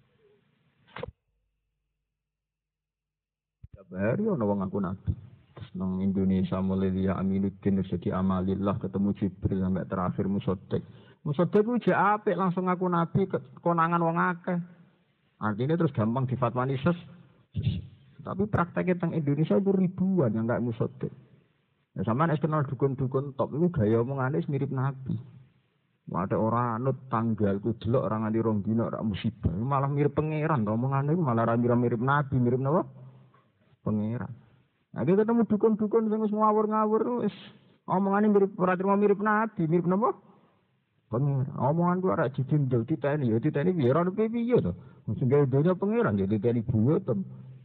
Tiap hari ana wong ngaku nabi. Terus nang Indonesia mulai dia Aminuddin Rezeki Amalillah ketemu Jibril sampai terakhir Musoddek. Musoddek ku jek apik langsung ngaku nabi konangan wong akeh. Artinya terus gampang difatwani Tapi prakteknya teng Indonesia itu ribuan yang enggak Musoddek. Ya sampean kenal dukun-dukun top itu gaya omongane mirip nabi. Ada orang anut tanggalku delok orang nganti rong dina ora musibah. Malah mirip pangeran to omongane malah mirip nabi, mirip napa? Pangeran. Nah, kita ketemu dukun-dukun sing wis ngawur-ngawur wis omongane mirip ora terima mirip nabi, mirip napa? Pangeran. Omongan ku ora dijinjel diteni, ya diteni piye ora piye to. Sing gawe donya pangeran ya diteni buwetem.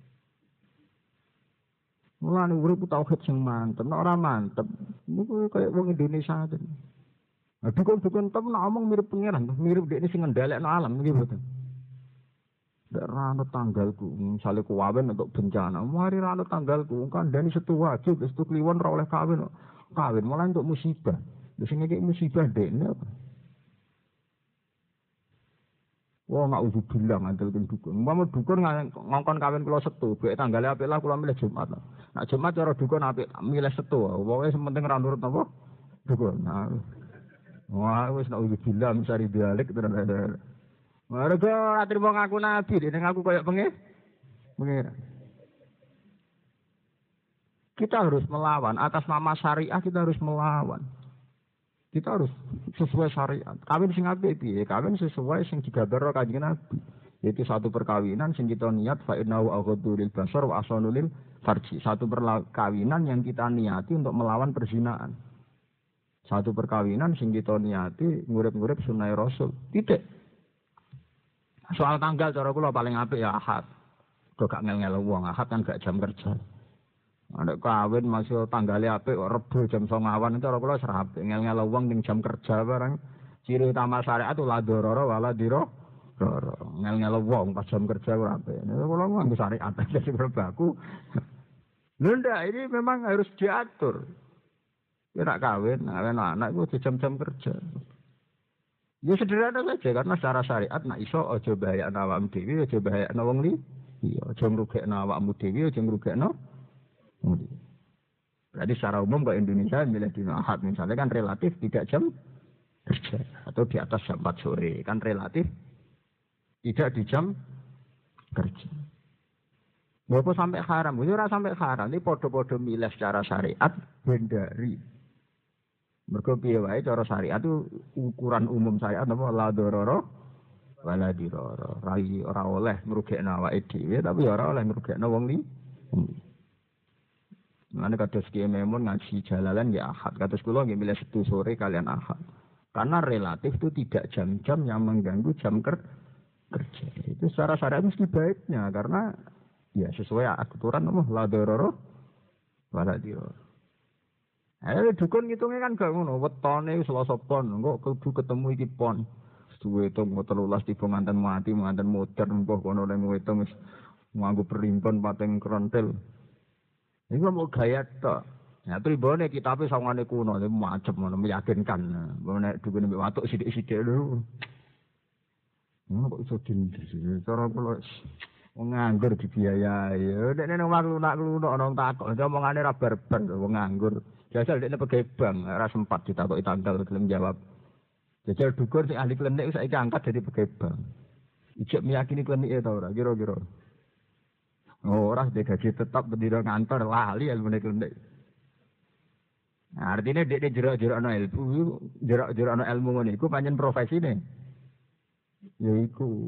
Mulane urip tauhid sing mantep, nek ora mantep niku kaya wong Indonesia aja. Nah, dukun-dukun tem nek omong mirip pangeran, mirip dekne sing ngendhalekno alam nggih mboten. Nek ra ana tanggalku, misale kuwawen untuk bencana, mari ra ana tanggalku, kandhani setu wajib, wis tu kliwon ora oleh kawin. Kawin malah untuk musibah. Lha sing iki musibah dekne apa? Wah, nggak usah bilang ngantel dukun. Mau dukun ngongkon kawin kula setu, bek tanggale apik lah kula milih Jumat. Nak Jumat cara dukun apik milih setu. Pokoke sementing ra nurut napa? Dukun. Nah. Wah, wis nak usah bilang sari dialek tenan. Mergo ora trimo ngaku nabi, nek aku koyo pengen. Kita harus melawan atas nama syariah, kita harus melawan. Kita harus sesuai syariat. Kawin sing apik piye? Kawin sesuai sing digambarno Kanjeng Nabi. Yaitu satu perkawinan sing kita niat fa innahu aghaddu lil basar wa ahsanu lil farji. Satu perkawinan yang kita niati untuk melawan perzinahan. Satu perkawinan sing kita niati ngurip-ngurip sunah Rasul. Titik. Soal tanggal cara kula paling apik ya Ahad. Kok gak ngel-ngel wong, Ahad kan gak jam kerja. Nek kawin masih tanggale apik kok Rebo jam 09.00 itu ora kula serap ngel-ngel wong ning jam kerja barang. Ciri utama syariat itu la dororo wala diro. Ngel-ngel wong pas jam kerja ora apik. Nek kula nganggo syariat dadi berbaku. Lho ndak ini memang harus diatur. Nek kawin, anak itu jam-jam kerja. Ya sederhana saja karena secara syariat nak iso aja bahayakno awakmu dhewe, aja bahayakno wong liya. Iya, aja ngrugekno awakmu dhewe, aja ngrugekno Berarti secara umum kalau Indonesia milih dina Ahad misalnya kan relatif tidak jam kerja atau di atas jam 4 sore kan relatif tidak di jam kerja. Bapak sampai haram, itu ora sampai haram. Ini podo-podo milih secara syariat bendari. Mergo piye wae cara syariat itu ukuran umum syariat apa la dororo wala diroro. Ora oleh ngrugekno awake dhewe tapi ora oleh ngrugekno wong liya. Mana kados Kiai Memun ngaji Jalalan ya Ahad. Kados kula nggih milih Sabtu sore kalian Ahad. Karena relatif itu tidak jam-jam yang mengganggu jam kerja. Itu secara syariat mesti baiknya karena ya sesuai aturan apa la dororo wala diroro. Dukun ngitungnya kan gak ngono. Wetone Selasa pon, kok kudu ketemu iki pon. Suwe to 13 tiba mantan mati, mantan modern kok kono nang wetung wis nganggo perimpon pateng krontel. Ini mau gaya tok. Ya pribone kitabe sawangane kuno, macem ngono meyakinkan. Nek dukun mbek watuk sithik-sithik lho. Kok iso dindi. Cara kula wong nganggur dibiayai. Nek nang lunak-lunak ana takok, omongane ra barbar wong nganggur. Jajal dekne pegawai bank, ora sempat ditakoki tanggal gelem jawab. Jajal dukun sing ahli klinik saiki angkat jadi pegawai bank. Ijek meyakini klinike ta ora kira-kira. Ora gaji tetap bendina ngantor lali ilmune klinik. Nah, artinya dia jerak-jerak no ilmu, jerak-jerak no ilmu ngono iku pancen profesine. Ya iku.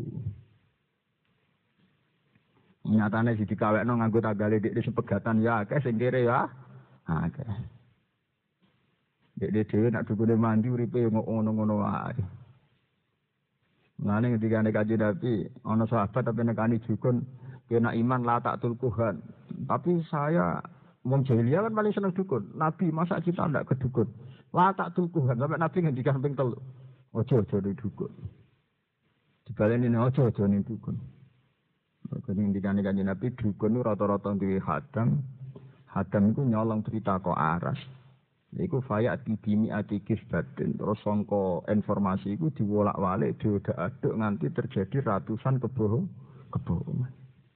Nyatane siji kawekno nganggo tanggale dik sepegatan ya akeh sing kere ya. Akeh. Dik dhewe nak dukune mandi uripe ngono-ngono wae. Ngene ngendikane Kanjeng Nabi, ana sahabat tapi nekani dukun kena iman la tak tulkuhan. Tapi saya wong jahiliyah kan paling seneng dukun. Nabi masa kita ndak ke dukun. La tak tulkuhan sampai Nabi ngendikan ping 3. Ojo-ojo di dukun. Dibaleni ojo-ojo ning dukun. Kene ngendikane Kanjeng Nabi dukun rata-rata duwe hadang Hadam iku nyolong berita kok aras. Iku fayak dibimi atikis batin. Terus sangka informasi iku diwolak-walik diodak-aduk nganti terjadi ratusan kebohongan.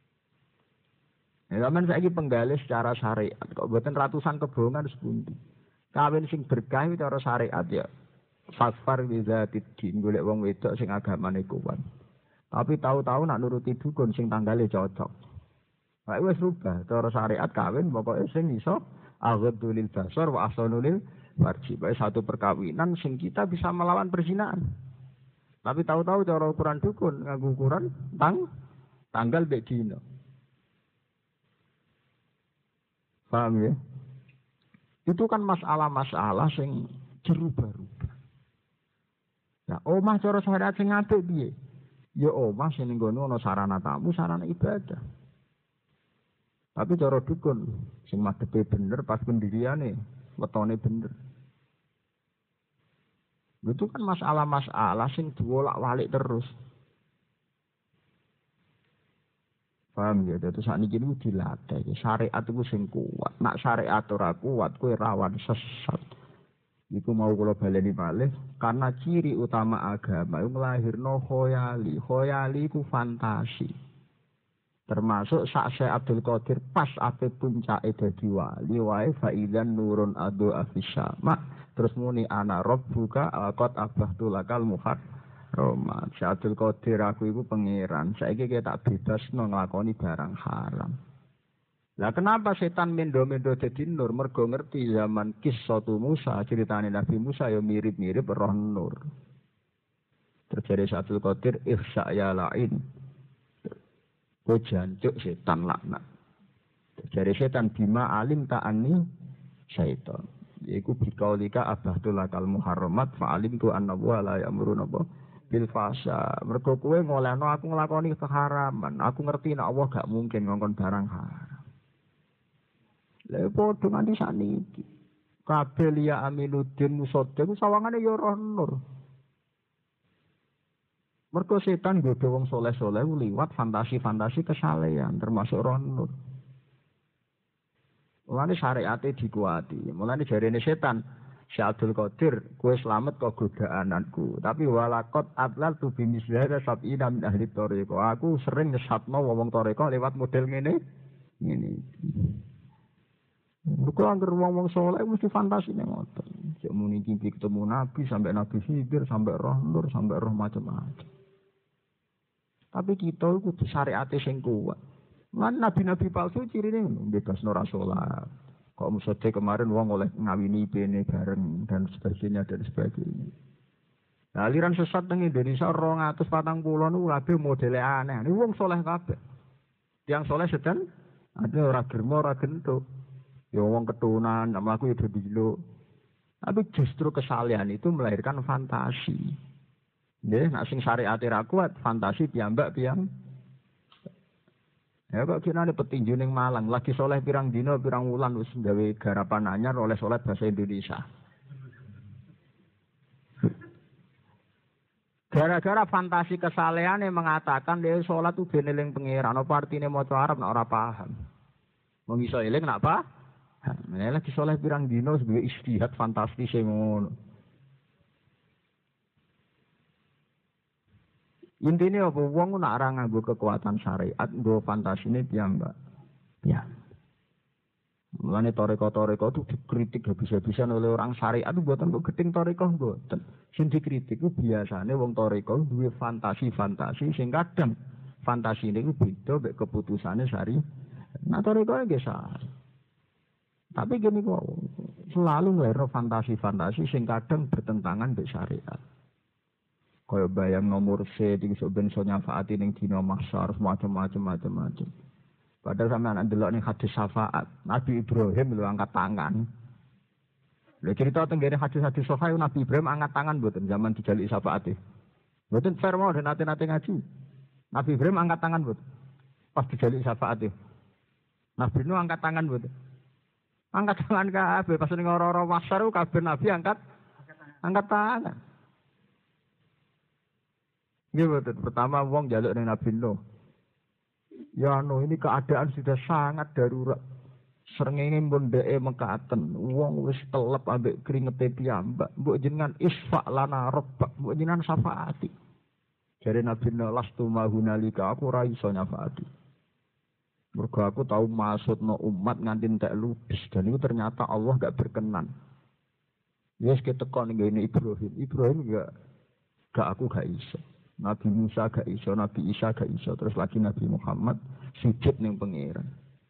Ya zaman saiki penggalih secara syariat kok mboten ratusan kebohongan sepundi. Kawin sing berkah iki cara syariat ya. Fasfar bizatid din golek wong wedok sing agamane kuat. Tapi tahu-tahu nak nuruti dukun sing tanggale cocok. Kae wis rubah cara syariat kawin pokoke sing iso aghadulil basar wa ahsanulil farji. Bae satu perkawinan sing kita bisa melawan perzinahan. Tapi tahu-tahu cara ukuran dukun nganggo ukuran tanggal mek dina. Paham ya? Itu kan masalah-masalah sing berubah-ubah. Nah, omah cara syariat sing apik piye? Ya omah sing nggono ana sarana tamu, sarana ibadah. Tapi cara dukun sing madhepe bener pas pendiriane, wetone bener. Itu kan masalah-masalah sing diwolak-walik terus. Paham ya, itu saat ini dilatih. Syariat itu sing kuat. Nak syariat ora kuat, kowe rawan sesat. Iku mau kula baleni malih, karena ciri utama agama itu nglahirno khoyali. Khoyali itu fantasi. Termasuk sak Syekh Abdul Qadir pas ape puncake dadi wali wae faidan nurun adu afisama. Terus muni ana rabbuka qad abahtu lakal muhar. Roma, Syaikhul Qadir aku iku pangeran. Saiki kita tak bebasno nglakoni barang haram. Lah kenapa setan mendo-mendo dadi nur? Mergo ngerti zaman kisah Musa, ceritane Nabi Musa ya mirip-mirip roh nur. Terjadi Syaikhul Qadir ihsa ya lain. Kowe jancuk setan laknat. Terjadi setan bima alim ta'ani syaitan. Iku bikaulika abahtul lakal muharramat fa'alim tu anna wa la ya'muruna bil fasa. Mergo kowe ngolehno aku nglakoni keharaman. Aku ngerti nek Allah gak mungkin ngongkon barang haram. Lha padha nganti sakniki. Kabeh liya Aminuddin Musaddiq ku sawangane ya roh nur. Mergo setan nggodho wong saleh-saleh liwat fantasi-fantasi kesalehan termasuk roh nur. Mulane syariate dikuati. Mulane jarene setan Syaikhul Qadir, kowe slamet kok godaananku. Tapi walakot atlal tu bimisliha sab'ina min ahli thariqah. Aku sering nyesatno wong thariqah lewat model ngene. Kok anggere wong saleh mesti fantasine ngoten. Cek muni mimpi ketemu nabi sampai nabi Khidir sampai roh nur sampai roh macam-macam. Tapi kita kudu syariate sing kuat. Lan nabi-nabi palsu cirine bebasno ra salat. Kok Musaddiq kemarin wong oleh ngawini bene bareng dan sebagainya. Nah, aliran sesat nang Indonesia 240 niku kabeh modele aneh. Niku wong saleh kabeh. Tiang saleh sedan ada ora germo ora gentuk. Ya wong ketunan, nama aku ya dilo. Tapi justru kesalehan itu melahirkan fantasi. Nggih, nek sing syariate ra kuat, fantasi piyambak. Ya kok kinane petinju ning Malang, lagi soleh pirang dina pirang wulan wis gawe garapan anyar oleh soleh bahasa Indonesia. Gara-gara fantasi kesalehan yang mengatakan dia sholat itu ben eling pangeran, apa artine maca Arab nek ora paham. Wong iso eling nek apa? Nek lagi soleh pirang dina sebagai istihad fantastis ngono. Intinya apa? Wong nak ora nganggo kekuatan syariat, nggo fantasine piyambak. Ya. Mulane toreko-toreko itu dikritik habis-habisan oleh orang syariat itu buatan kok gedeng toreko mboten. Sing dikritik itu biasane wong toreko duwe fantasi-fantasi sing kadang fantasine iku beda mek keputusane syariat. Nah toreko nggih salah. Tapi gini kok selalu ngelero fantasi-fantasi sing kadang bertentangan mek syariat. Kaya bayang nomor C iki sok ben iso nyafaati ning dina mahsyar macam-macam. Padahal sampeyan anak ndelok ning hadis syafaat, Nabi Ibrahim lho angkat tangan. Lha cerita teng ngene hadis-hadis sahih Nabi Ibrahim angkat tangan mboten zaman dijaluk syafaate. Mboten fair mau dan nate-nate ngaji. Nabi Ibrahim angkat tangan mboten. Pas dijaluk syafaate. Nabi Nuh angkat tangan mboten. Angkat tangan kabeh pas ning ora-ora mahsyar kabeh Nabi angkat tangan. Ini betul. Pertama wong jaluk dengan Nabi Nuh. Ya Nuh ini keadaan sudah sangat darurat. Srengenge mbon dheke mekaten, wong wis telep ambek kringete piyambak, mbok jenengan isfa lana rabbak, mbok jenengan syafaati. Jare Nabi lastu mahunalika aku ora iso nyafaati. Mergo aku tahu maksudno umat nganti entek ludes dan itu ternyata Allah gak berkenan. Yes ketekon ngene Ibrahim. Ibrahim gak aku gak iso. Nabi Musa gak iso, Nabi Isa gak iso, terus lagi Nabi Muhammad sujud ning pangeran.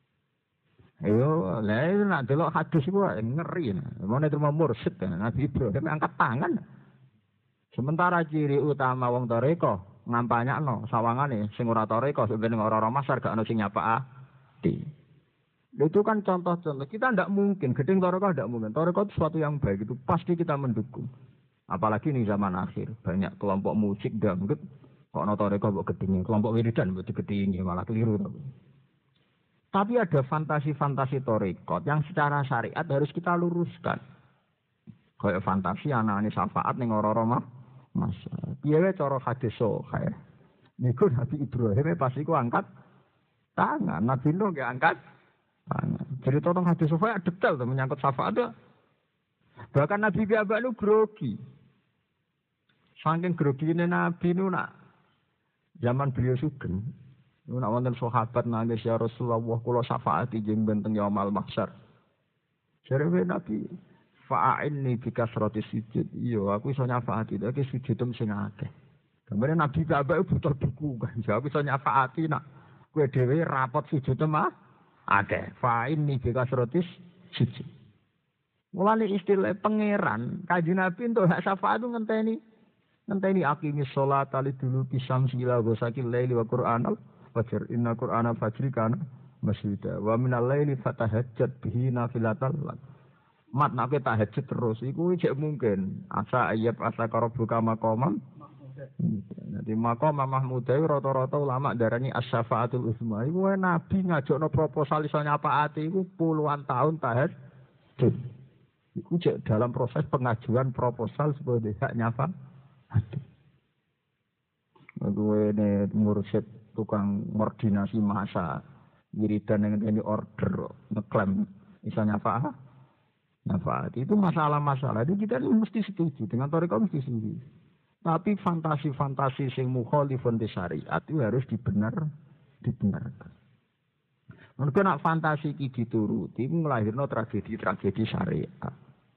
Ayo, lah nek delok hadis iku ngeri. Mone terima mursyid Nabi Ibrahim angkat tangan. Sementara ciri utama wong toreko ngampanyakno sawangane sing ora toreko sebenarnya ora-ora masar gak ono sing nyapaati. Itu kan contoh-contoh. Kita tidak mungkin gedeng toreko tidak mungkin. Toreko itu sesuatu yang baik itu pasti kita mendukung. Apalagi di zaman akhir banyak kelompok musik dangdut kok ono toreko mbok gedenge, kelompok wiridan mbok digedingi malah keliru. Tapi ada fantasi-fantasi torekot yang secara syariat harus kita luruskan. Kayak fantasi anak-anak syafaat ning ora-ora masa. Piye wae cara hadis kayak niku Nabi Ibrahim pas iku angkat tangan, Nabi Nuh nggih angkat tangan. Cerita tentang hadis syafaat detail tuh menyangkut syafaat tuh. Bahkan Nabi piyambak nu grogi. Saking grogine Nabi nu nak zaman beliau sugeng. Nu nak wonten sahabat nangis ya Rasulullah kula syafaati jeng benteng yaumul mahsyar. Jare Nabi fa'inni bi kasrati sujud. Iya, aku iso nyafaati iki sujudem sing akeh. Gambar Nabi piyambak butuh dukungan. Aku iso nyafaati nak kowe dhewe rapot sujudem akeh. Fa'inni bi kasrati sujud. Mulane istilah pangeran, Kanjeng Nabi entuk hak syafaat ngenteni aqimis sholata liduluki syamsi ila ghasaqil laili wa qur'anal fajr inna qur'anal fajri kana masyhuda wa minal laili fatahajjat bihi nafilatal lak. Mat nek tahajud terus iku cek mungkin asa ayat asa karabuka maqamam. Nanti maqam Mahmud rata-rata ulama darani as-syafaatul uzma. Iku Nabi ngajakno proposal iso nyapaati iku puluhan tahun tahajud. Iku cek dalam proses pengajuan proposal sebagai hak nyafa. Aku ini mursyid tukang koordinasi masa wiridan yang ini order ngeklaim bisa nyafa itu masalah-masalah itu kita mesti setuju dengan toriko mesti setuju tapi fantasi-fantasi sing mukhalifun di syariat itu harus dibenarkan mungkin nak fantasi iki dituruti nglahirno tragedi-tragedi syariat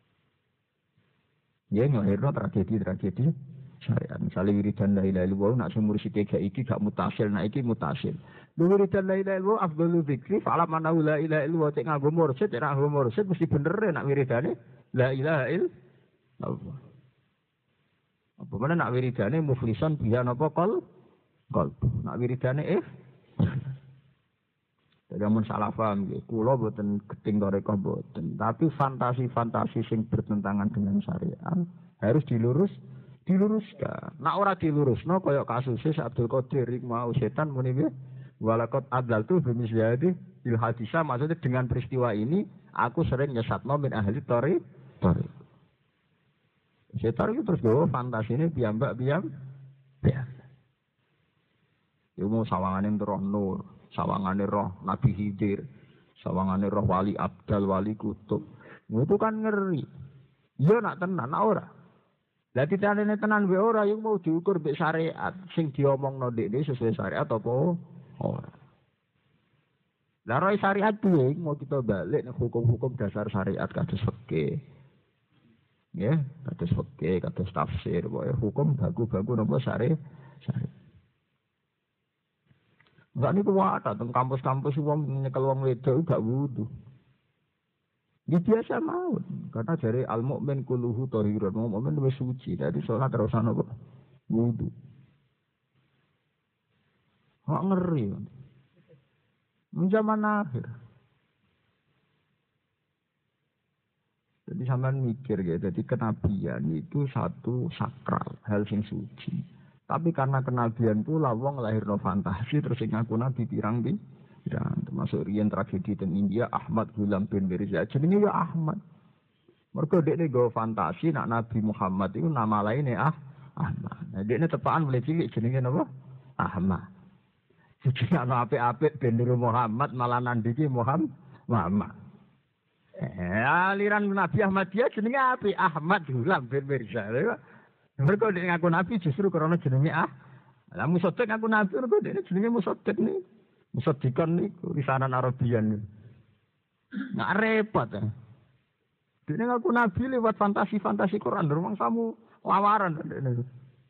ya nglahirno tragedi-tragedi syariat. Misalnya wiridan la ilaha illallah nak sumur sithik gak iki gak mutasil, nak iki mutasil. Wiridan la ilaha illallah afdhalu dzikri fa'ala manahu la ilaha illallah cek nganggo mursyid, cek nganggo mursyid mesti bener nak wiridane la ilaha illallah. Apa mana nak wiridane muflisan biya napa kol. Nak wiridane Jadi amun salah paham nggih, kula boten gedeng toreko boten, tapi fantasi-fantasi sing bertentangan dengan syariat harus diluruskan. Nak ora dilurusno kaya kasusé Abdul Qadir iku mau setan muni piye? Walaqad adlaltu bimisyadi il hadisa maksudnya dengan peristiwa ini aku sering nyesatno min ahli tori. Setan itu terus go fantasine piyambak. Yo mau sawangane roh nur, sawangane roh Nabi Khidir, sawangane roh wali abdal, wali kutub. Itu kan ngeri. Yo nak tenan nak ora. Lah titane tenan wae ora yang mau diukur mbek syariat sing diomongno ndekne sesuai syariat apa ora. Lah roh syariat kuwi mau kita balik nek hukum-hukum dasar syariat kados fikih. Ya, kados fikih, kados tafsir, wae hukum baku-baku napa syariat. Enggak niku wae teng kampus-kampus wong nyekel wong wedok gak wudu. Dia biasa mau, karena dari al-mu'min kulluhu thahirun, mu'min wis suci, dadi salat terus ana kok wudu. Kok ngeri. Zaman akhir. Jadi sampean mikir ya, jadi kenabian itu satu sakral, hal sing suci. Tapi karena kenabian pula wong lahirno fantasi terus sing ngaku nabi pirang ya, termasuk riyen tragedi teng India Ahmad Ghulam bin Mirza jenenge ya Ahmad. Mergo dekne go fantasi nak Nabi Muhammad itu nama lainne Ahmad. Nah dekne tepakan mulai cilik jenenge napa? Ahmad. Jadi ana apik-apik ben niru Muhammad malah nandiki Muhammad. Aliran Nabi Ahmadiyah jenenge apik, Ahmad Hulam bin Mirza. Mergo nek ngaku nabi justru karena jenenge lah Musaddiq ngaku nabi mergo dene jenenge Musaddiq niku. Musaddiqan niku lisanan Arabian. Nggak repot ya. Dene ngaku nabi lewat fantasi-fantasi Quran, rumang kamu lawaran dene.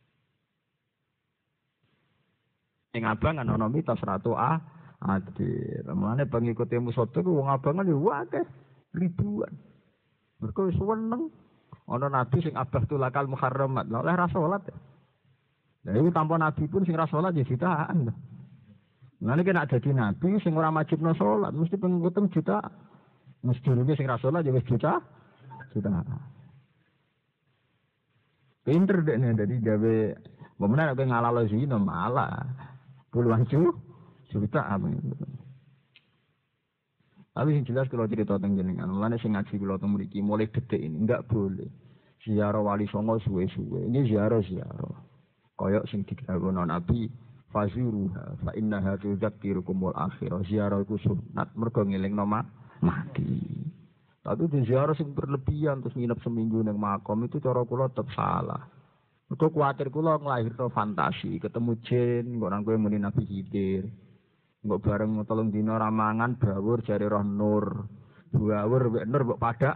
Ing abang kan ana mitos ratu Adil. Mulane pengikute Musaddiq wong abangan yo akeh ribuan. Mergo wis seneng. Ana nabi sing abah tulakal muharramat, lha oleh ra salat. Lah iku tanpa nabi pun sing ra salat ya jutaan. Lah nek nek dadi nabi sing ora wajibno salat, mesti pengikutem juta. Mesti durunge sing ra salat ya wis juta. Pinter dekne dadi gawe menawa nek ngalalo zina malah puluhan juta apa itu. Tapi yang jelas kalau cerita tentang jenengan, mulanya sing ngaji kalau tentang mriki mulai detik ini enggak boleh ziarah wali songo suwe-suwe. Ini ziarah. Koyok sing dikawuh Nabi fazuruha fa innaha tudzakirukumul akhirah. Ziarah iku sunat mergo ngelingno mati. Tapi di ziarah sing berlebihan terus nginep seminggu ning makom itu cara kula tetep salah. Mergo kuwatir kula nglahirno fantasi, ketemu jin, kok nang kowe muni Nabi Khidir. Mbok bareng telung dina ramangan bawur jare roh nur. Bawur mek nur mbok padak.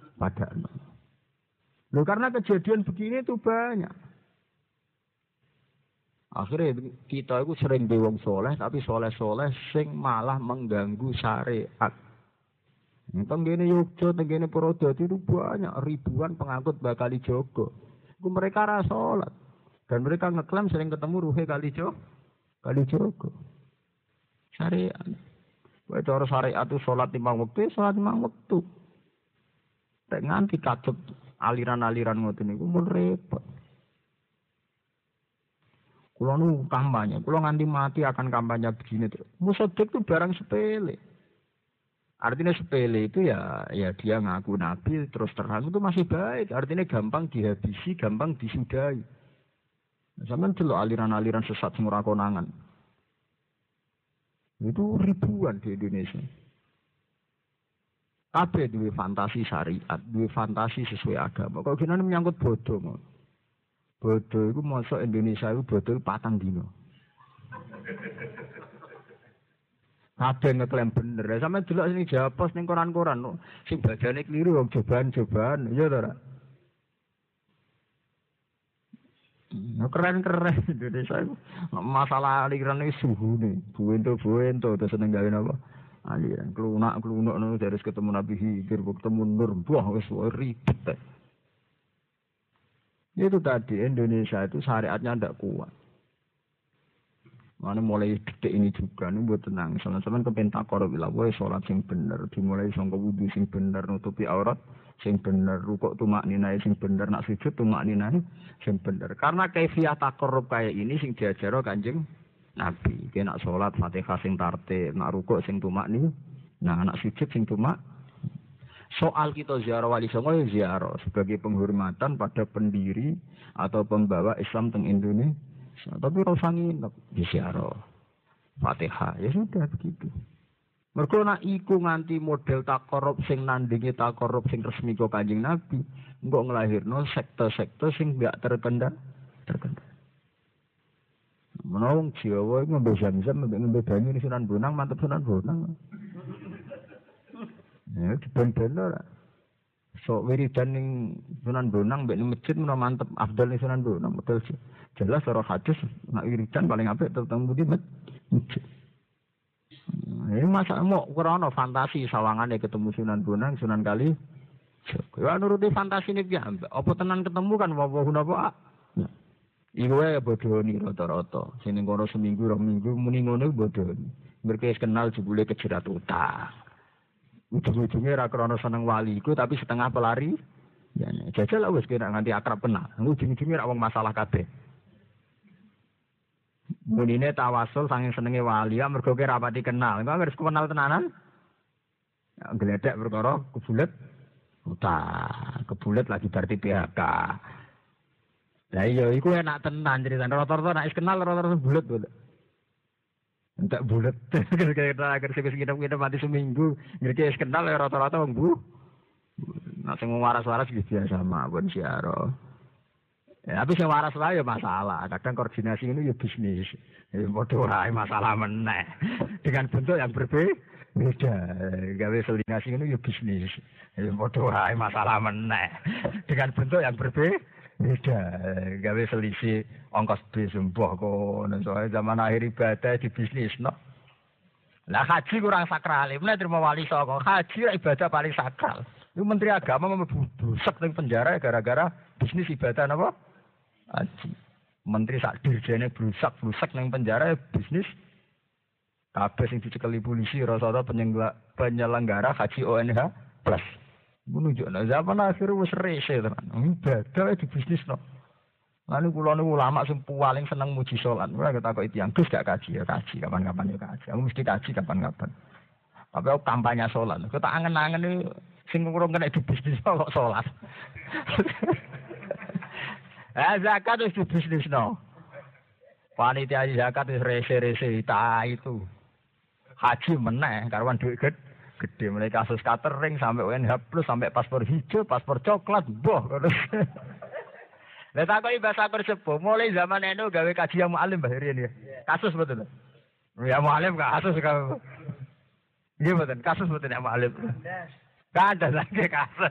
Loh karena kejadian begini itu banyak. Akhirnya kita itu sering di wong soleh tapi soleh-soleh sing malah mengganggu syariat. Tenggene Yogyo, tenggene Purwodadi itu banyak ribuan pengangkut bakal Jogo. Mereka ra salat dan mereka ngeklaim sering ketemu ruhe kali Jogo. Syariat. Wae cara syariat itu salat 5 waktu, salat 5 waktu. Tek nganti katut aliran-aliran ngoten niku mun repot. Kula nu kampanye, kula nganti mati akan kampanye begini terus. Musaddiq itu barang sepele. Artinya sepele itu ya dia ngaku nabi terus terang itu masih baik. Artinya gampang dihabisi, gampang disudahi. Sampeyan delok aliran-aliran sesat sing ora konangan. Itu ribuan di Indonesia. Kabeh duwe fantasi syariat, duwe fantasi sesuai agama. Kok gini menyangkut bodoh. Bodoh itu masuk Indonesia itu bodoh 4 dino. Kabeh ngeklaim bener. Sampe delok sing japos ning koran-koran sing bajane kliru wong cobaan, ya to ora? Keren Indonesia itu. Masalah aliran ini suhu nih. Buento terus seneng gawe napa? Aliran klunak no dari ketemu Nabi Khidir, ketemu Nur, wah wis ribet. Itu tadi Indonesia itu syariatnya ndak kuat. Mana mulai detik ini juga nih buat tenang. Soalnya kepentak korup ilah, sholat sing bener, dimulai sangka wudu sing bener, nutupi aurat sing bener, rukuk tumak ninai sing bener, nak sujud tumak ninai sing bener. Karena kaifiah takorup kayak ini sing diajaro Kanjeng Nabi. Kaya nak sholat Fatihah sing tartib, nak rukuk sing tumak nih, nah nak sujud sing tumak. Soal kita ziarah wali songo ya ziarah sebagai penghormatan pada pendiri atau pembawa Islam teng Indonesia. Tapi rasa nginep di ziarah Fatihah ya sudah begitu. Mergo nak iku nganti model takorup sing nandingi takorup sing resmi kok Kanjeng Nabi, engko nglahirno sekte-sekte sing enggak terkendali. Menawa Jawa iku ngombe zam-zam, ngombe banyu di Sunan Bonang, mantep Sunan Bonang. Ya ben-ben ora. So wiridan ning Sunan Bonang mbek ning masjid menawa mantep afdal ning Sunan Bonang, betul sih. Jelas cara hadis nak wiridan paling apik tetep di masjid. Ini masa mau krono fantasi sawangane ketemu Sunan Bonang, Sunan Kali. Ya nuruti fantasi ini ya. Apa tenan ketemu kan apa napa? Iku wae bodoni rata-rata. Sing ning kono seminggu, 2 minggu muni ngono bodoni. Mereka kenal jebule kejerat utang. Ujung-ujungnya ra krono seneng wali iku tapi setengah pelari. Ya jajal wis kena nganti akrab kenal. Ujung-ujungnya ra wong masalah kabeh. Munine tawasul saking senenge wali ya mergo ki rapati kenal. Engko harus kenal tenanan. Ya gledek perkara kebulet utang. Kebulet lagi berarti PHK. Lah iya iku enak tenan critane rata-rata nek kenal rata-rata bulet. Entek bulet. Kita akhir kita mati seminggu. Ngerti kenal ya rata-rata wong bu. Nah sing waras-waras gitu biasa mawon siaro. Ya, tapi sing waras wae ya masalah. Kadang koordinasi ini ya bisnis. Ya padha wae masalah meneh. Dengan bentuk yang berbeda. Gawe koordinasi ini ya bisnis. Ya padha wae masalah meneh. Dengan bentuk yang berbeda. Gawe selisih ongkos bis mbah kono. Soale zaman akhir ibadah di bisnis no. Lah haji kurang sakral. Mulai terima wali songo. Haji ibadah paling sakral. Itu Menteri Agama membusek ning penjara gara-gara bisnis ibadah napa? Haji. Menteri sak dirjene blusak ning penjara bisnis kabeh sing dicekeli polisi rasa-rasa penyelenggara haji ONH plus. Menunjukno zaman akhir wis rese tenan. Ibadah di bisnisno. Lalu kula niku ulama sing paling seneng muji salat. Ora ketakoki tiyang Gus gak kaji ya kaji kapan-kapan ya kaji. Aku mesti kaji kapan-kapan. Tapi aku kampanye salat. Aku tak angen-angen sing kurang kena di bisnis kok salat. Zakat itu bisnis no. Panitia zakat itu rese-rese itu. Haji meneh karuan duit gede mulai kasus catering sampai UNH plus sampai paspor hijau, paspor coklat, boh. Lah takoki bahasa sepuh mulai zaman NU gawe kaji yang mualim Mbah Rian ya. Kasus betul. Ya mualim kasus kan. Iya betul, kasus betul ya mualim. Gak ada lagi kasus.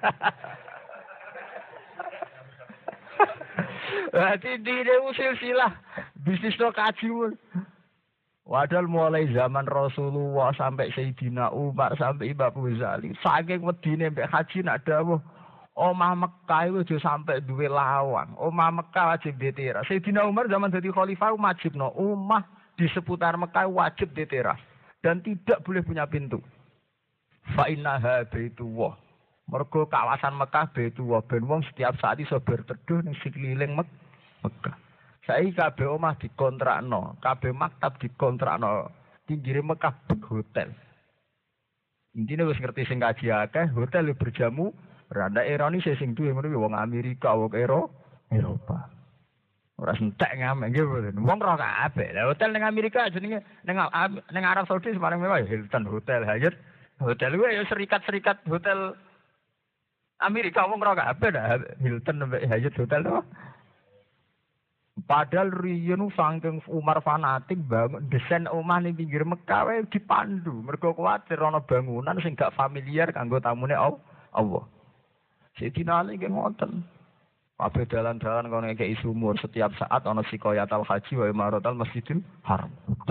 Berarti dia silsilah bisnis lo kaji. Padahal mulai zaman Rasulullah sampai Sayyidina Umar sampai Imam Ghazali saking wedine mbek haji nak dawuh omah Mekah itu sampai duwe lawang. Omah Mekah wajib diteras. Sayyidina Umar zaman jadi khalifah wajibno omah di seputar Mekah wajib diteras dan tidak boleh punya pintu. Fa innaha baitullah. Mergo kawasan Mekah baitullah ben wong setiap saat iso berteduh ning sekeliling Mekah. Saiki kabeh omah dikontrakno, kabeh maktab dikontrakno. Pinggire Mekah hotel. Intine wis ngerti sing kaji akeh, hotel berjamu, rada ironi sing duwe meneh wong Amerika, wong Eropa. Ora entek ngamek nggih mboten. Wong ora kabeh. Lah hotel ning Amerika jenenge ning Arab Saudi paling mewah Hilton Hotel Hyatt. Hotel kuwi ya serikat-serikat hotel Amerika wong ora kabeh dah Hilton Hyatt Hotel to. Padahal riyen saking Umar fanatik bangun desain omah ning pinggir Mekah wae dipandu. Mergo kuwatir ana bangunan sing gak familiar kanggo tamune Allah. Sayyidina Ali nggih ngoten. Kabeh dalan-dalan kono ngekeki sumur setiap saat ana sikoyatal haji wa imaratal Masjidil Haram.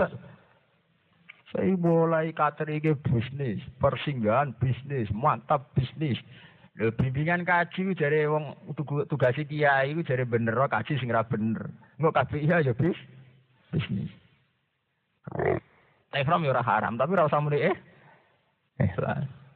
Saya mulai katerike bisnis, persinggahan bisnis, mantap bisnis. Bimbingan kaji jare wong tugasi kiai iku jare bener kaji sing ra bener. Engko kabeh iya ya bisnis. Ihram ya ora haram, tapi ora usah muni lah.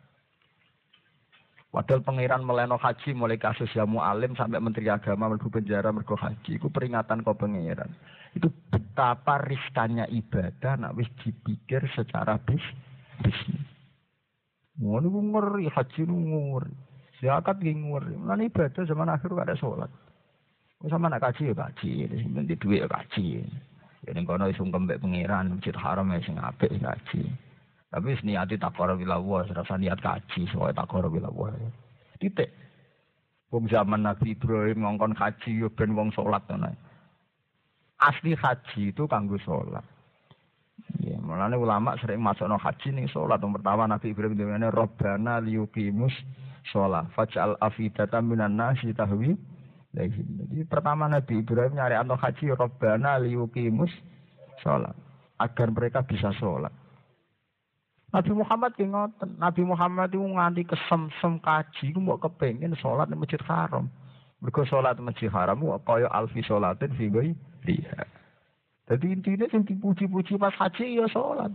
Padahal pangeran meleno haji mulai kasus Yamu Alim sampai Menteri Agama mlebu penjara mergo haji iku peringatan kok pangeran. Itu betapa riskannya ibadah nek wis dipikir secara bisnis. Ngono ku ngeri haji ngeri. Zakat nguri. Lan ibadah zaman akhir gak ada salat. Wis sama nak kaji ya kaji, sing penting dhuwit ya kaji. Ya ning kono wis sungkem mbek pangeran, Masjid Haram sing apik kaji. Tapi wis niati takor bila wa, rasa niat kaji, soal takor bila wa. Titik. Wong zaman Nabi Ibrahim ngongkon kaji yo ben wong salat ngono. Asli haji itu kanggo salat. Ya, mulane ulama sering masukno haji ning salat. Yang pertama Nabi Ibrahim dene Rabbana liyuqimus shalah faj'al afidatan minan nasi tahwi lahim. Jadi pertama Nabi Ibrahim nyari anto haji Rabbana liyuqimus shalah agar mereka bisa sholat. Nabi Muhammad ki ngoten. Nabi Muhammad itu nganti kesem-sem kaji ku mbok kepengin sholat ning Masjid Haram. Mergo sholat Masjid Haram ku kaya alfi sholatin fi ghairiha. Jadi intinya sing dipuji-puji pas haji ya sholat.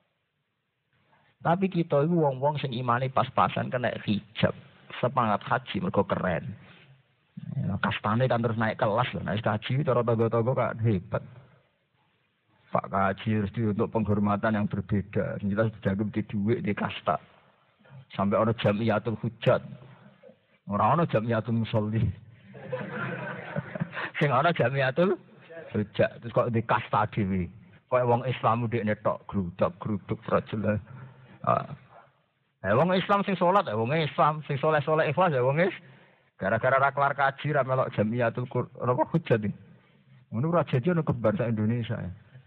Tapi kita itu wong-wong sing imane pas-pasan kena hijab. Semangat haji mergo keren. Ya, kastane kan terus naik kelas lho. Naik haji cara tangga-tangga kan hebat. Pak haji harus untuk penghormatan yang berbeda. Jelas dijaga di duit di kasta. Sampai ana jamiatul hujjat. Ora ana jamiatul musolli. Sing ana jamiatul hujjat. Terus kok di kasta dhewe. Kaya wong Islam ndekne tok gruduk rajul. Wong Islam sing salat, wong Islam sing saleh-saleh ikhlas ya wong gara-gara ra kelar kaji ra melok jamiatul Qur'an apa hujat iki. Ngono ora jadi ono kebar sak Indonesia.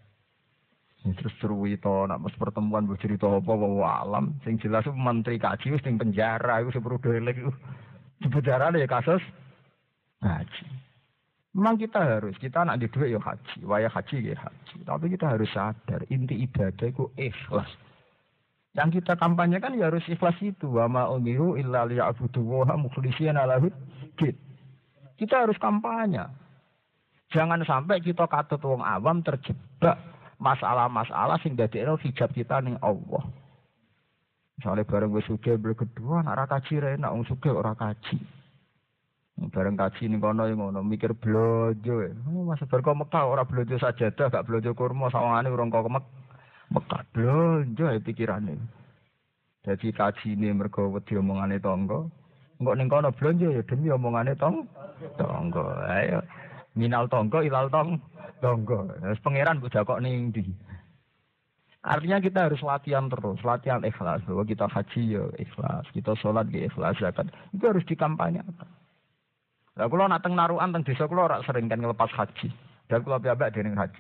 Terus seruwi to nak pas pertemuan mbok cerita apa alam sing jelas menteri kaji wis ning penjara iku sepuro delek iku. Di penjara ya kasus haji. Memang kita nak di duit ya haji, wayah haji ya haji. Tapi kita harus sadar inti ibadah itu ikhlas. Yang kita kampanyekan ya harus ikhlas itu. Wa ma umiru illa liya'budullaha mukhlishina lahuddin. Kita harus kampanye. Jangan sampai kita katut wong awam terjebak masalah-masalah sing dadekno hijab kita ning Allah. Misalnya bareng wis sugih berkedua nak ra kaji ra enak wong sugih ora kaji. Bareng kaji ning kono ngono mikir blojo. Masa bar kok Mekah ora blojo sajadah gak blojo kurma sawangane urung kok Mekah blojo pikirane. Dadi kajine mergo wedi omongane tangga. Engko ning kono blonjo ya demi omongane tangga. Ayo minal tangga ilal tangga. Wis pangeran mbok jakok ning ndi. Artinya kita harus latihan terus, latihan ikhlas. Bahwa kita haji ya ikhlas, kita sholat ya ikhlas, zakat. Itu harus dikampanyekan. Lah kula nak teng narukan teng desa kula ora sering kan ngelepas haji. Dan kula piyambak dening haji.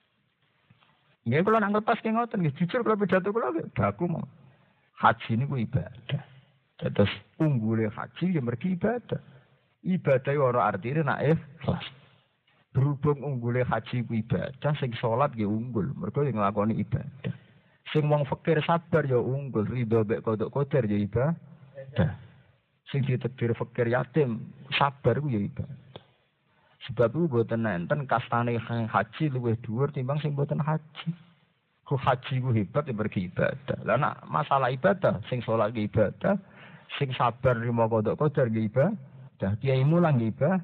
Nggih kula nak ngelepas ki ngoten nggih jujur kula pidato kula baku mau. Haji niku ibadah. Terus unggule haji ya mergi ibadah. Ibadah ora artine nak ikhlas. Berhubung unggule haji ku ibadah, sing salat nggih unggul, mergo sing nglakoni ibadah. Sing wong fakir sabar ya unggul, ridho mek kodok koder ya ibadah. Sing ditakdir fakir yatim sabar ku ya ibadah. Sebab itu mboten enten kastane haji luwih dhuwur timbang sing mboten haji. Ku haji ku hebat ya mergi ibadah. Lah nek masalah ibadah, sing salat ki ibadah, sing sabar nrimo kodok koder ki ibadah, kiai mulang ki ibadah.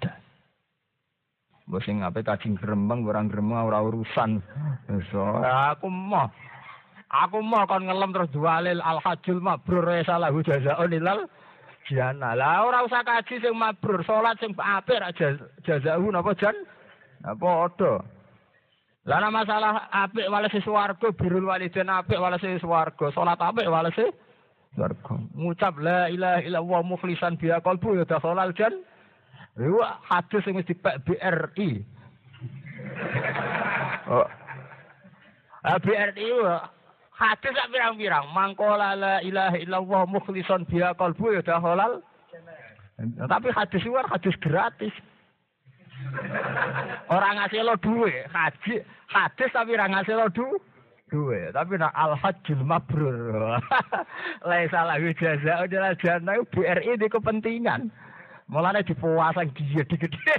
Mbok sing ape kajing gremeng ora gremeng ora urusan. So, aku mau kon ngelem terus dualil al hajjul mabrur salahu jazaa'un ilal jannah. Lah ora usah kaji sing mabrur, salat sing apik ra jazaa'u napa jan? Apa padha. Lah nek masalah apik walese swarga, birrul walidain apik walese swarga, salat apik walese swarga. Ngucap la ilaha illallah mukhlishan biha qalbu ya dakhalal jannah. Iku hadis sing wis dipek BRI. Oh. BRI hadis sak pirang-pirang. Mangkola la ilaha illallah mukhlishan biha qalbu ya halal. Tapi hadis luar hadis gratis. Orang ngasih lo duwe, hadis tapi ora ngasih lo duwe. Tapi nak al hajjul mabrur. Laisa lahu jazaa'un ilal jannah BRI di kepentingan. Mulane dipuasang dia digede.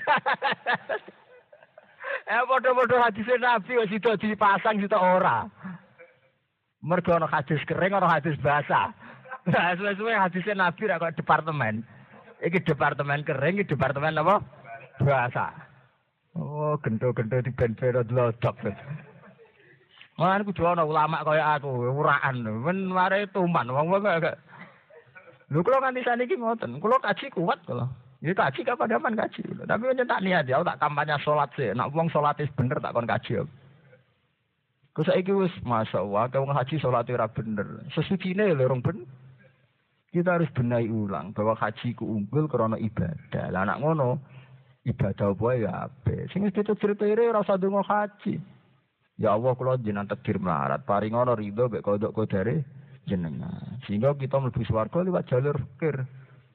Padha-padha hadis Nabi kok sida dipasang sida ora. Mergo ana hadis kering ana hadis basah. Nah, suwe-suwe hadis Nabi ra kok departemen. Iki departemen kering, iki departemen apa? Basah. Oh, gento-gento diben-ben dlodok. Mulane kudu ana ulama kaya aku, uraan. Men mare tuman wong-wong kok. Lho kula nganti saniki ngoten, kula kaji kuat kula. Ya kaji kapan-kapan kaji. Tapi kan tak niat ya, tak kampanye salat sih. Nak wong salatis bener tak kon kaji. Ku saiki wis masyaallah, wong haji salate ora bener. Sesucine lho rong ben. Kita harus benahi ulang bahwa haji ku unggul karena ibadah. Lah nak ngono, ibadah apa ya ape. Sing wis ditutur-tuture ora usah ndonga haji. Ya Allah kula jenengan takdir melarat, paring ana ridho mek kodok kodare jenengan. Sehingga kita mlebu swarga liwat jalur fikir.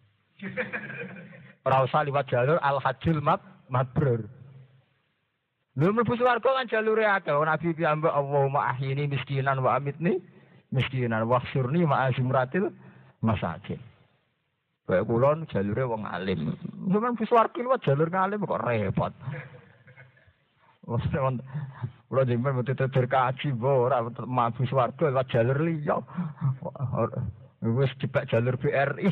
Ora usah liwat jalur al-hajjul mabrur. Lha mlebu swarga kan jalure akeh. Nabi piyambak Allahumma ahyini miskinan wa amitni miskinan wa khsurni ma'a zumratil masakin. Kayak kula jalure wong alim. Sampeyan mlebu swarga liwat jalur ngalim kok repot. Kula jenengan mesti kaji ora mlebu swarga liwat jalur liya. Wis dipek jalur BRI.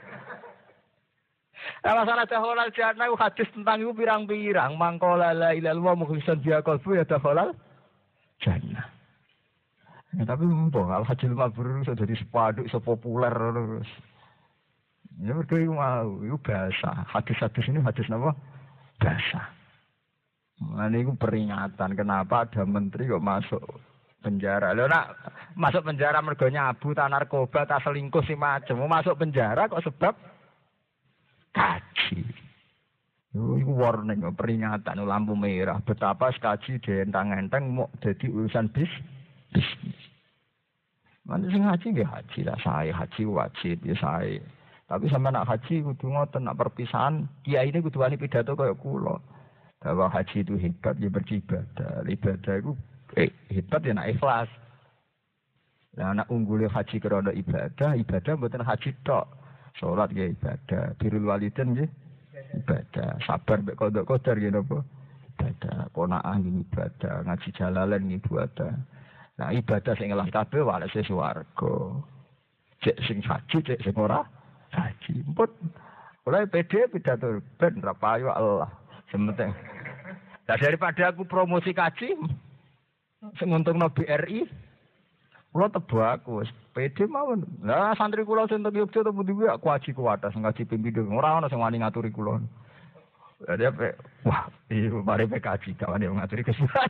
Masalah dakhalal jannah hadis tentang itu pirang-pirang. Mangkola la ilaha illallah mukhlishan biha qalbu ya dakhalal jannah. Ya, tapi mbok al hajjul mabrur iso dadi sepaduk iso populer terus. Ya mergo iku mau, iku bahasa. Hadis-hadis ini hadis napa? Bahasa. Nah, ini peringatan kenapa ada menteri kok masuk penjara. Lho nak masuk penjara mergo nyabu, tak narkoba, tak selingkuh si macam. Masuk penjara kok sebab kaji. Itu warning, peringatan, lampu merah. Betapa kaji dientang-enteng mau jadi urusan bisnis. Mana sing haji nggih haji lah, saya haji wajib ya saya. Tapi sama nak haji kudu ngoten, nak perpisahan kiai ini kudu wani pidato kaya kula. Bahwa haji itu hebat ya beribadah. Ibadah itu hebat ya nak ikhlas. Nah anak unggulnya haji karena ibadah mboten haji tok. Salat ya ibadah, birrul walidain nggih ibadah, sabar mek qadha-qadar nggih napa? Ibadah, qanaah nggih ibadah, ngaji jalalain nggih ibadah. Nah ibadah sing ngelah kabeh walese swarga. Cek sing haji, cek sing ora haji. Empun. Oleh PD pidato ben ra payu Allah. Sementing. Nah, daripada aku promosi kaji, sing untungno BRI, kula tebo aku wis PD mawon. Lah santri kula sing teng Yogyakarta pundi kuwi aku haji kuwatas ngaji pimpindo. Ora ana sing wani ngaturi kula. Jadi apa? Wah, iya mari PKJ kawan yang ngaturi kesulitan.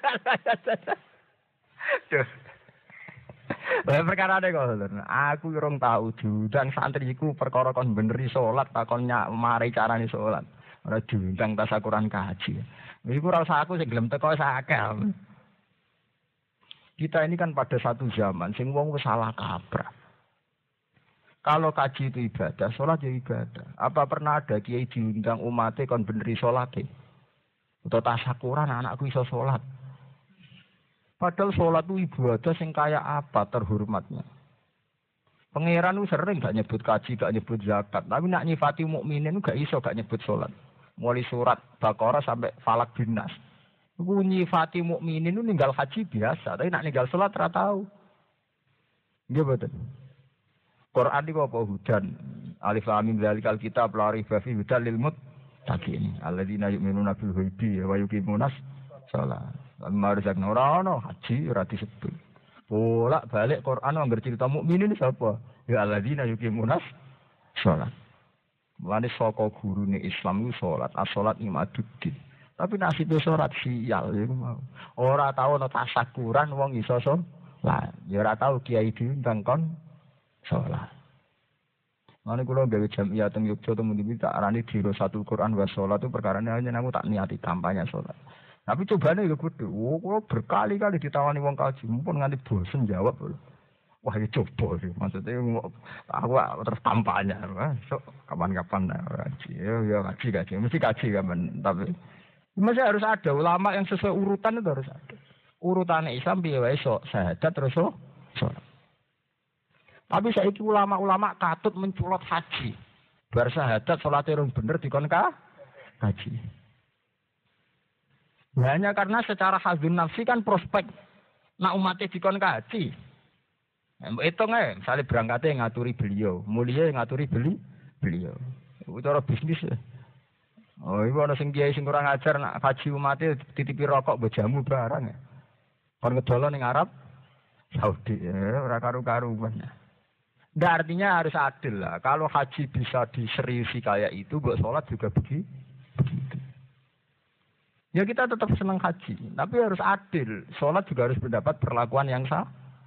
Perkara ada kok, aku urung tahu dan santriku perkara kon beneri salat takon mari carane salat. Ora diundang tasakuran kaji. Iku ora usah aku sing gelem teko sakal. Kita ini kan pada satu zaman sing wong wis salah kaprah. Kalau kaji itu ibadah, salat ya ibadah. Apa pernah ada kiai diundang umate kon beneri salate? Atau tasakuran anakku iso salat. Padahal sholat itu ibadah sing kaya apa terhormatnya. Pangeran itu sering gak nyebut kaji, gak nyebut zakat. Tapi nak nyifati mukminin itu gak iso gak nyebut sholat. Mulai surat Baqarah sampai Falak bin Nas. Itu nyifati mukminin itu ninggal haji biasa. Tapi nak ninggal sholat ora tahu. Iya betul. Quran itu apa? Hudan. Alif lam mim dzalikal kitab la raiba fihi hudal lil muttaqin. Alladzina yu'minuna bil ghaibi wa yuqimunas shalah. Mari sak ora haji ora disebut. Bolak balik Quran anggar cerita mukminin sapa? Ya alladzina yuqimunas shalah. Mulane saka gurune Islam iku salat, as-salat imaduddin. Tapi nasibé salat sial iku mau. Ora tau ana tasakuran wong iso salat. Ya ora tau kiai diundang kon salat. Mane kula gawe jamiah teng Yogyakarta muni tak arani dirosatul Quran wa salat itu perkarane hanya aku tak niati kampanye salat. Tapi cobane ya gede. Kula berkali-kali ditawani wong kaji, mumpun nganti bosen jawab. Wah, ya coba sih. Maksudnya aku terus kampanye. So, kapan-kapan kaji. Ya kaji. Mesti kaji kapan. Tapi masih harus ada ulama yang sesuai urutan itu harus ada. Urutannya Islam piye wae sok syahadat terus salat. Tapi saiki ulama-ulama katut menculot haji. Bar syahadat salate rung bener dikon kaji. Hanya karena secara hazun nafsi kan prospek nak umatnya dikon kaji. Hitung misalnya berangkatnya ngaturi beliau, mulia ngaturi beliau. Itu cara bisnis ya. Oh, ibu ada sing kiai sing kurang ajar nak kaji umatnya titipi rokok bejamu barang ya. Kon ngedolon ning Arab Saudi ya, ora karu-karuan. Nggak artinya harus adil lah. Kalau haji bisa diseriusi kayak itu, buat sholat juga begitu. Ya kita tetap senang haji, tapi harus adil. Sholat juga harus mendapat perlakuan yang sama.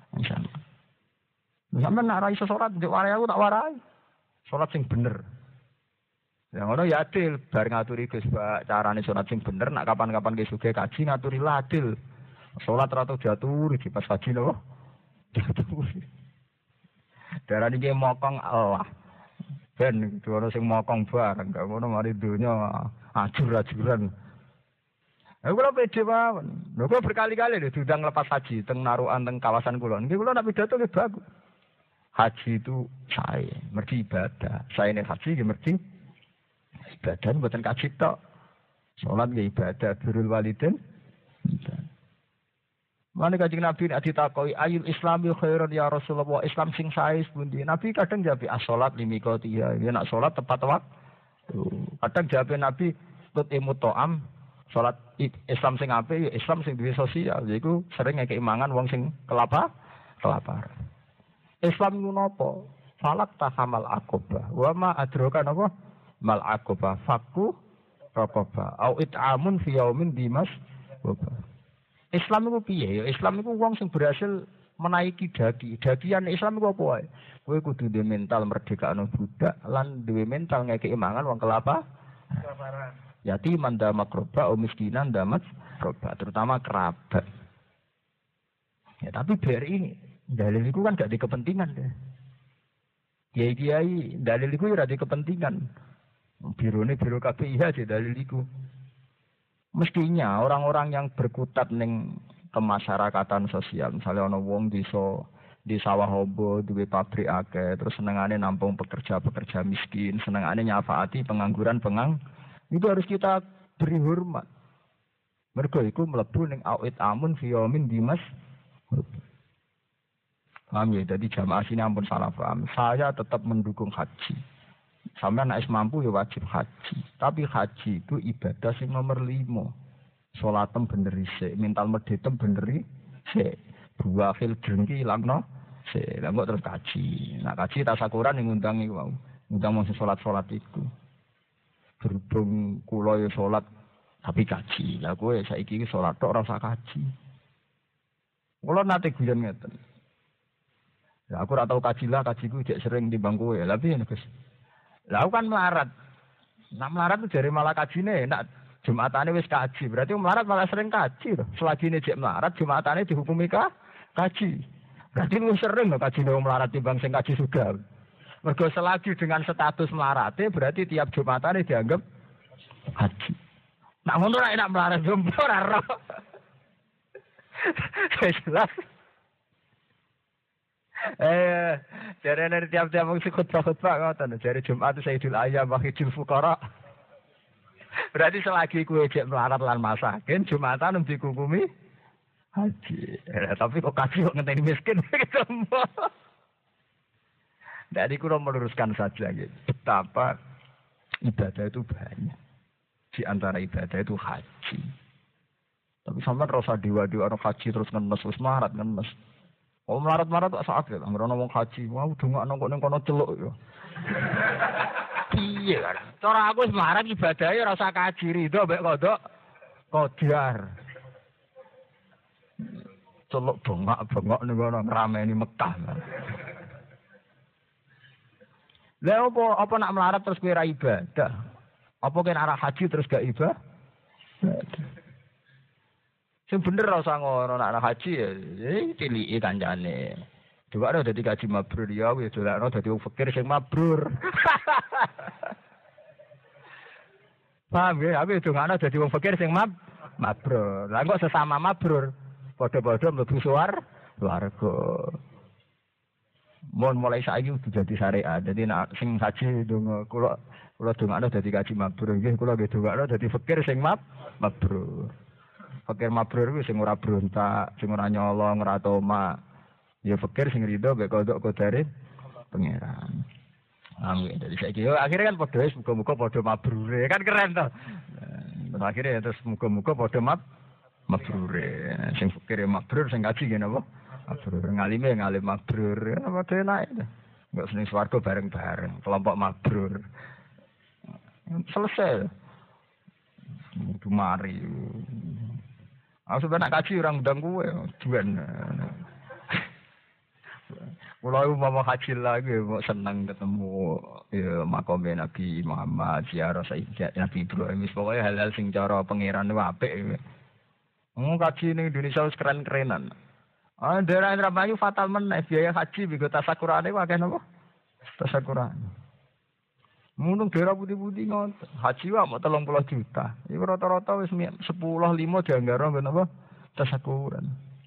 Sampai nak rai sholat, warai aku tak warai. Sholat sing bener. Yang ono ya adil. Bar ngaturi Gus carane sholat sing bener. Nak kapan-kapan ke suge kaji ngaturi lah adil. Sholat ratu diaturi di pas haji loh. Diaturi. Darah ini mokong Allah. Ben itu ono sing mokong barang. Gak ono mari dunia ajur-ajuran. Aku lho pede mawon. Lho kok berkali-kali lho diundang lepas haji teng narukan teng kawasan kula. Nggih kula nek pidato nggih bagus. Haji itu saya, mergi ibadah. Saya ini haji nggih mergi ibadah mboten kaji tok. Salat nggih ibadah, birrul walidain. Mane Kanjeng Nabi nek ditakoki ayul islami khairan ya Rasulullah, Islam sing sae pundi? Nabi kadang jawab as-salat limikotiha. Ya nak salat tepat waktu. Kadang jawab Nabi tut imutoam salat Islam sing apik ya Islam sing duwe sosial. Yaiku sering ngekeki mangan wong sing kelaparan. Islam iku napa? Falak tahamal aqobah. Wa ma adroka napa? Mal aqobah. Fakku raqabah au it'amun fi yaumin dimas. Islam iku piye ya? Islam iku wong sing berhasil menaiki dagi. Dagian Islam iku apa wae? Kowe kudu duwe mental merdekakno budak lan duwe mental ngekeki mangan wong kelaparan. Yatiman damat roba, miskinan damat roba, terutama kerabat. Ya tapi BRI dalil itu kan gak di kepentingan deh. Kiai dalil itu ya di kepentingan. Biro KPIH aja dalil itu. Mestinya orang-orang yang berkutat ning kemasyarakatan sosial, misalnya ono wong di sawah hobo, duwe pabrik akeh, terus senengane nampung pekerja-pekerja miskin, senengane nyafaati pengangguran itu harus kita beri hormat. Mergo iku mlebu ning awit amun fi yaumin dimas. Paham ya? Jadi jamaah sini ampun salah paham. Saya tetap mendukung haji. Sampai anak mampu ya wajib haji. Tapi haji itu ibadah sing nomor 5. Sholatem bener isik, mental medhetem bener isik. Buahil drengki ilangno sik. Lah kok terus kaji. Nah kaji tasakuran yang ngundang iku mau. Ngundang mung salat-salat iku. Berhubung kula ya salat tapi kaji. Lah kowe saiki iki salat tok ora usah kaji. Kula nate guyon ngeten. Lah aku ora tau kaji lah, kajiku jek sering timbang kowe. Lah piye Gus? Lah kan melarat. Nah melarat itu jare malah kajine enak. Jumatane wis kaji. Berarti melarat malah sering kaji lho. Selagi ini jek melarat Jumatane dihukumi kaji. Berarti lu sering lho kajine wong melarat timbang sing kaji sudah. Mergo selagi dengan status melarate berarti tiap Jumatane dianggap kaji. Nak ngono ra enak melarat jompo ora ro. Jelas. Jare nek tiap-tiap wong khutbah ngoten, jare Jumat Sayyidul Ayyam wa Hijjul Fuqara. Berarti selagi kowe jek melarat lan masakin, Jumatan dikukumi haji. Tapi kok kaji kok ngenteni miskin ketemu. Jadi kula meluruskan saja gitu. Betapa ibadah itu banyak. Di antara ibadah itu haji. Tapi sampean rasa dewa-dewa ana haji terus ngenes wis melarat ngenes. Oh melarat-melarat tak sakit, anggere ana wong haji, wah dongakno kok ning kono celuk ya. Piye kan? Cara aku wis melarat ibadahe ora usah kaji rido mbek kodok kodar. Celuk bengak-bengok ning kono ngrameni Mekah. Lah apa nak melarat terus kowe ra ibadah? Apa kene arah haji terus gak ibadah? Sing bener ora usah ngono nek haji ya ciliki kancane. Coba ora dadi kaji mabrur ya wis dolakno dadi wong fakir sing mabrur. Paham ya, aku dongakno dadi wong fakir sing mabrur. Lah kok sesama mabrur padha-padha mlebu swarga. Mun mulai saiki kudu dadi syariat. Dadi nek sing haji donga kula dongakno dadi kaji mabrur nggih kula nggih dongakno dadi fakir sing mabrur. Fakir mabrur kuwi sing ora brontak, sing ora nyolong, ora toma. Ya fakir sing rido mek kodok kodare pangeran. Amin. Dari saiki yo akhirnya kan padha wis muga-muga padha mabrure. Kan keren to. Terus akhirnya terus muga-muga padha mabrure. Sing fakir mabrur sing kaji ngene apa? Mabrur ngalime ngalim mabrur. Padha enak to. Enggak seneng swarga bareng-bareng, kelompok mabrur. Selesai. Kudu mari. Aku sebenarnya kaji orang undang gue, juan. Mulai mau haji lagi, mau senang ketemu ya makomnya Nabi Muhammad, ziarah Nabi Ibrahim. Pokoknya hal-hal sing cara pangeran itu apik. Kaji ini Indonesia harus keren-kerenan. Daerah Indramayu fatal meneh biaya haji bigo tasakurane wae napa? Tasakurane. Muntung daerah putih-putih ngoten. Haji wae mau 30 juta. Iku rata-rata wis 10-5 dianggara ben apa? Tasakuran.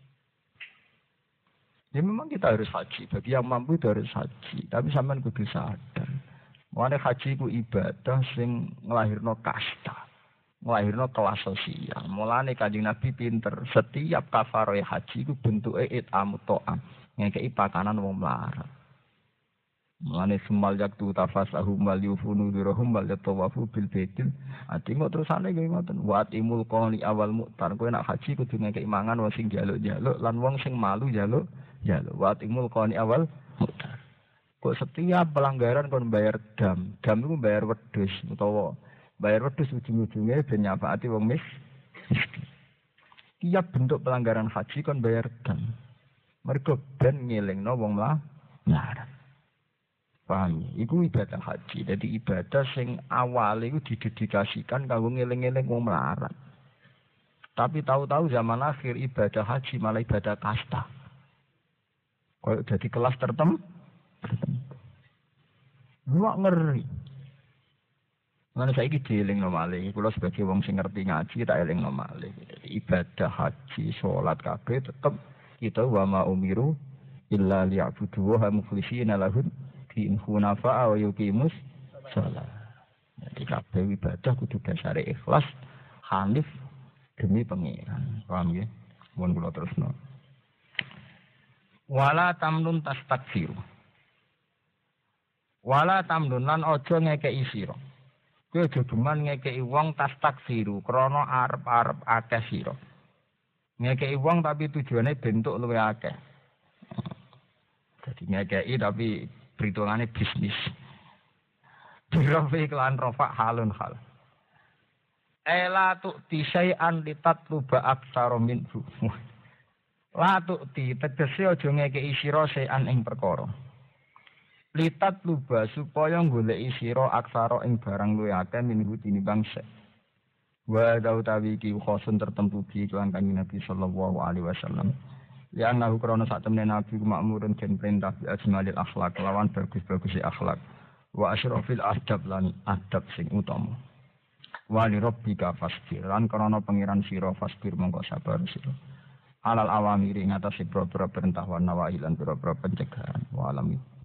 Ya memang kita harus haji. Bagi yang mampu itu harus haji. Tapi sampean kudu sadar. Mulane haji ku ibadah sing nglahirno kasta. Nglahirno kelas sosial. Mulane Kanjeng Nabi pinter. Setiap kafaroh haji ku bentuke it'amut ta'am. Ngekeki pakanan wong melarat. Mulane semal yaktu tafasahum wal yufunu dirahum wal yatawafu bil baitil. Ati kok terusane nggih ngoten. Wa atimul qani awal mu'tar. Kowe nak haji kudu ngekeki mangan wong sing njaluk-njaluk lan wong sing malu njaluk. Wa atimul qani awal mu'tar. Kok setiap pelanggaran kon bayar dam. Dam iku bayar wedhus utawa Bayar wedhus ujung-ujungnya ben nyafaati wong miskin. Tiap bentuk pelanggaran haji kon bayar dam. Mergo ben ngelingno wong melarat. Paham? Iku ibadah haji. Jadi ibadah sing awal itu didedikasikan kanggo ngeling-eling wong melarat. Tapi tahu-tahu zaman akhir ibadah haji malah ibadah kasta. Kok jadi kelas tertentu. Luak ngeri. Lan saiki dielingno malih. Kula sebagai wong sing ngerti ngaji tak elingno malih. Ibadah haji, salat kabeh tetep kita wa ma umiru illa liya'budu wa mukhlishina lahu din hunafa wa yuqimus shalah. Jadi kabeh ibadah kudu dasare ikhlas, hanif demi pangeran. Paham nggih? Mun kula terusno. Wala tamnun tastakfir. Wala tamnun lan aja ngekeki sira. Kowe aja geman ngekeki wong tastakfiru krana arep-arep akeh sira. Ngekeki wong tapi tujuane bentuk luwih akeh. Jadi ngekeki tapi perhitungannya bisnis. Birafi kelan rofa halun hal. Ela tu'ti syai'an litatluba aktsara minhu. La tu'ti tegese aja ngekeki sira syai'an ing perkara. Litat luba supaya goleki sira aksara ing barang luwih akeh minhu tinimbang sek. Wa dautawi iki khosun tertentu bi kelan Kanjeng Nabi sallallahu alaihi wasallam. Ya ana krana sak temene Nabi makmurun den perintah bi ajmalil akhlak lawan bagus-bagus akhlak. Wa asyrafil adab lan adab sing utama. Wa li rabbika fasbir lan krana pangeran sira fasbir mongko sabar sira. Alal awamiri ngatasi pro-pro perintah wa nawahi lan pro-pro pencegahan wa alamin.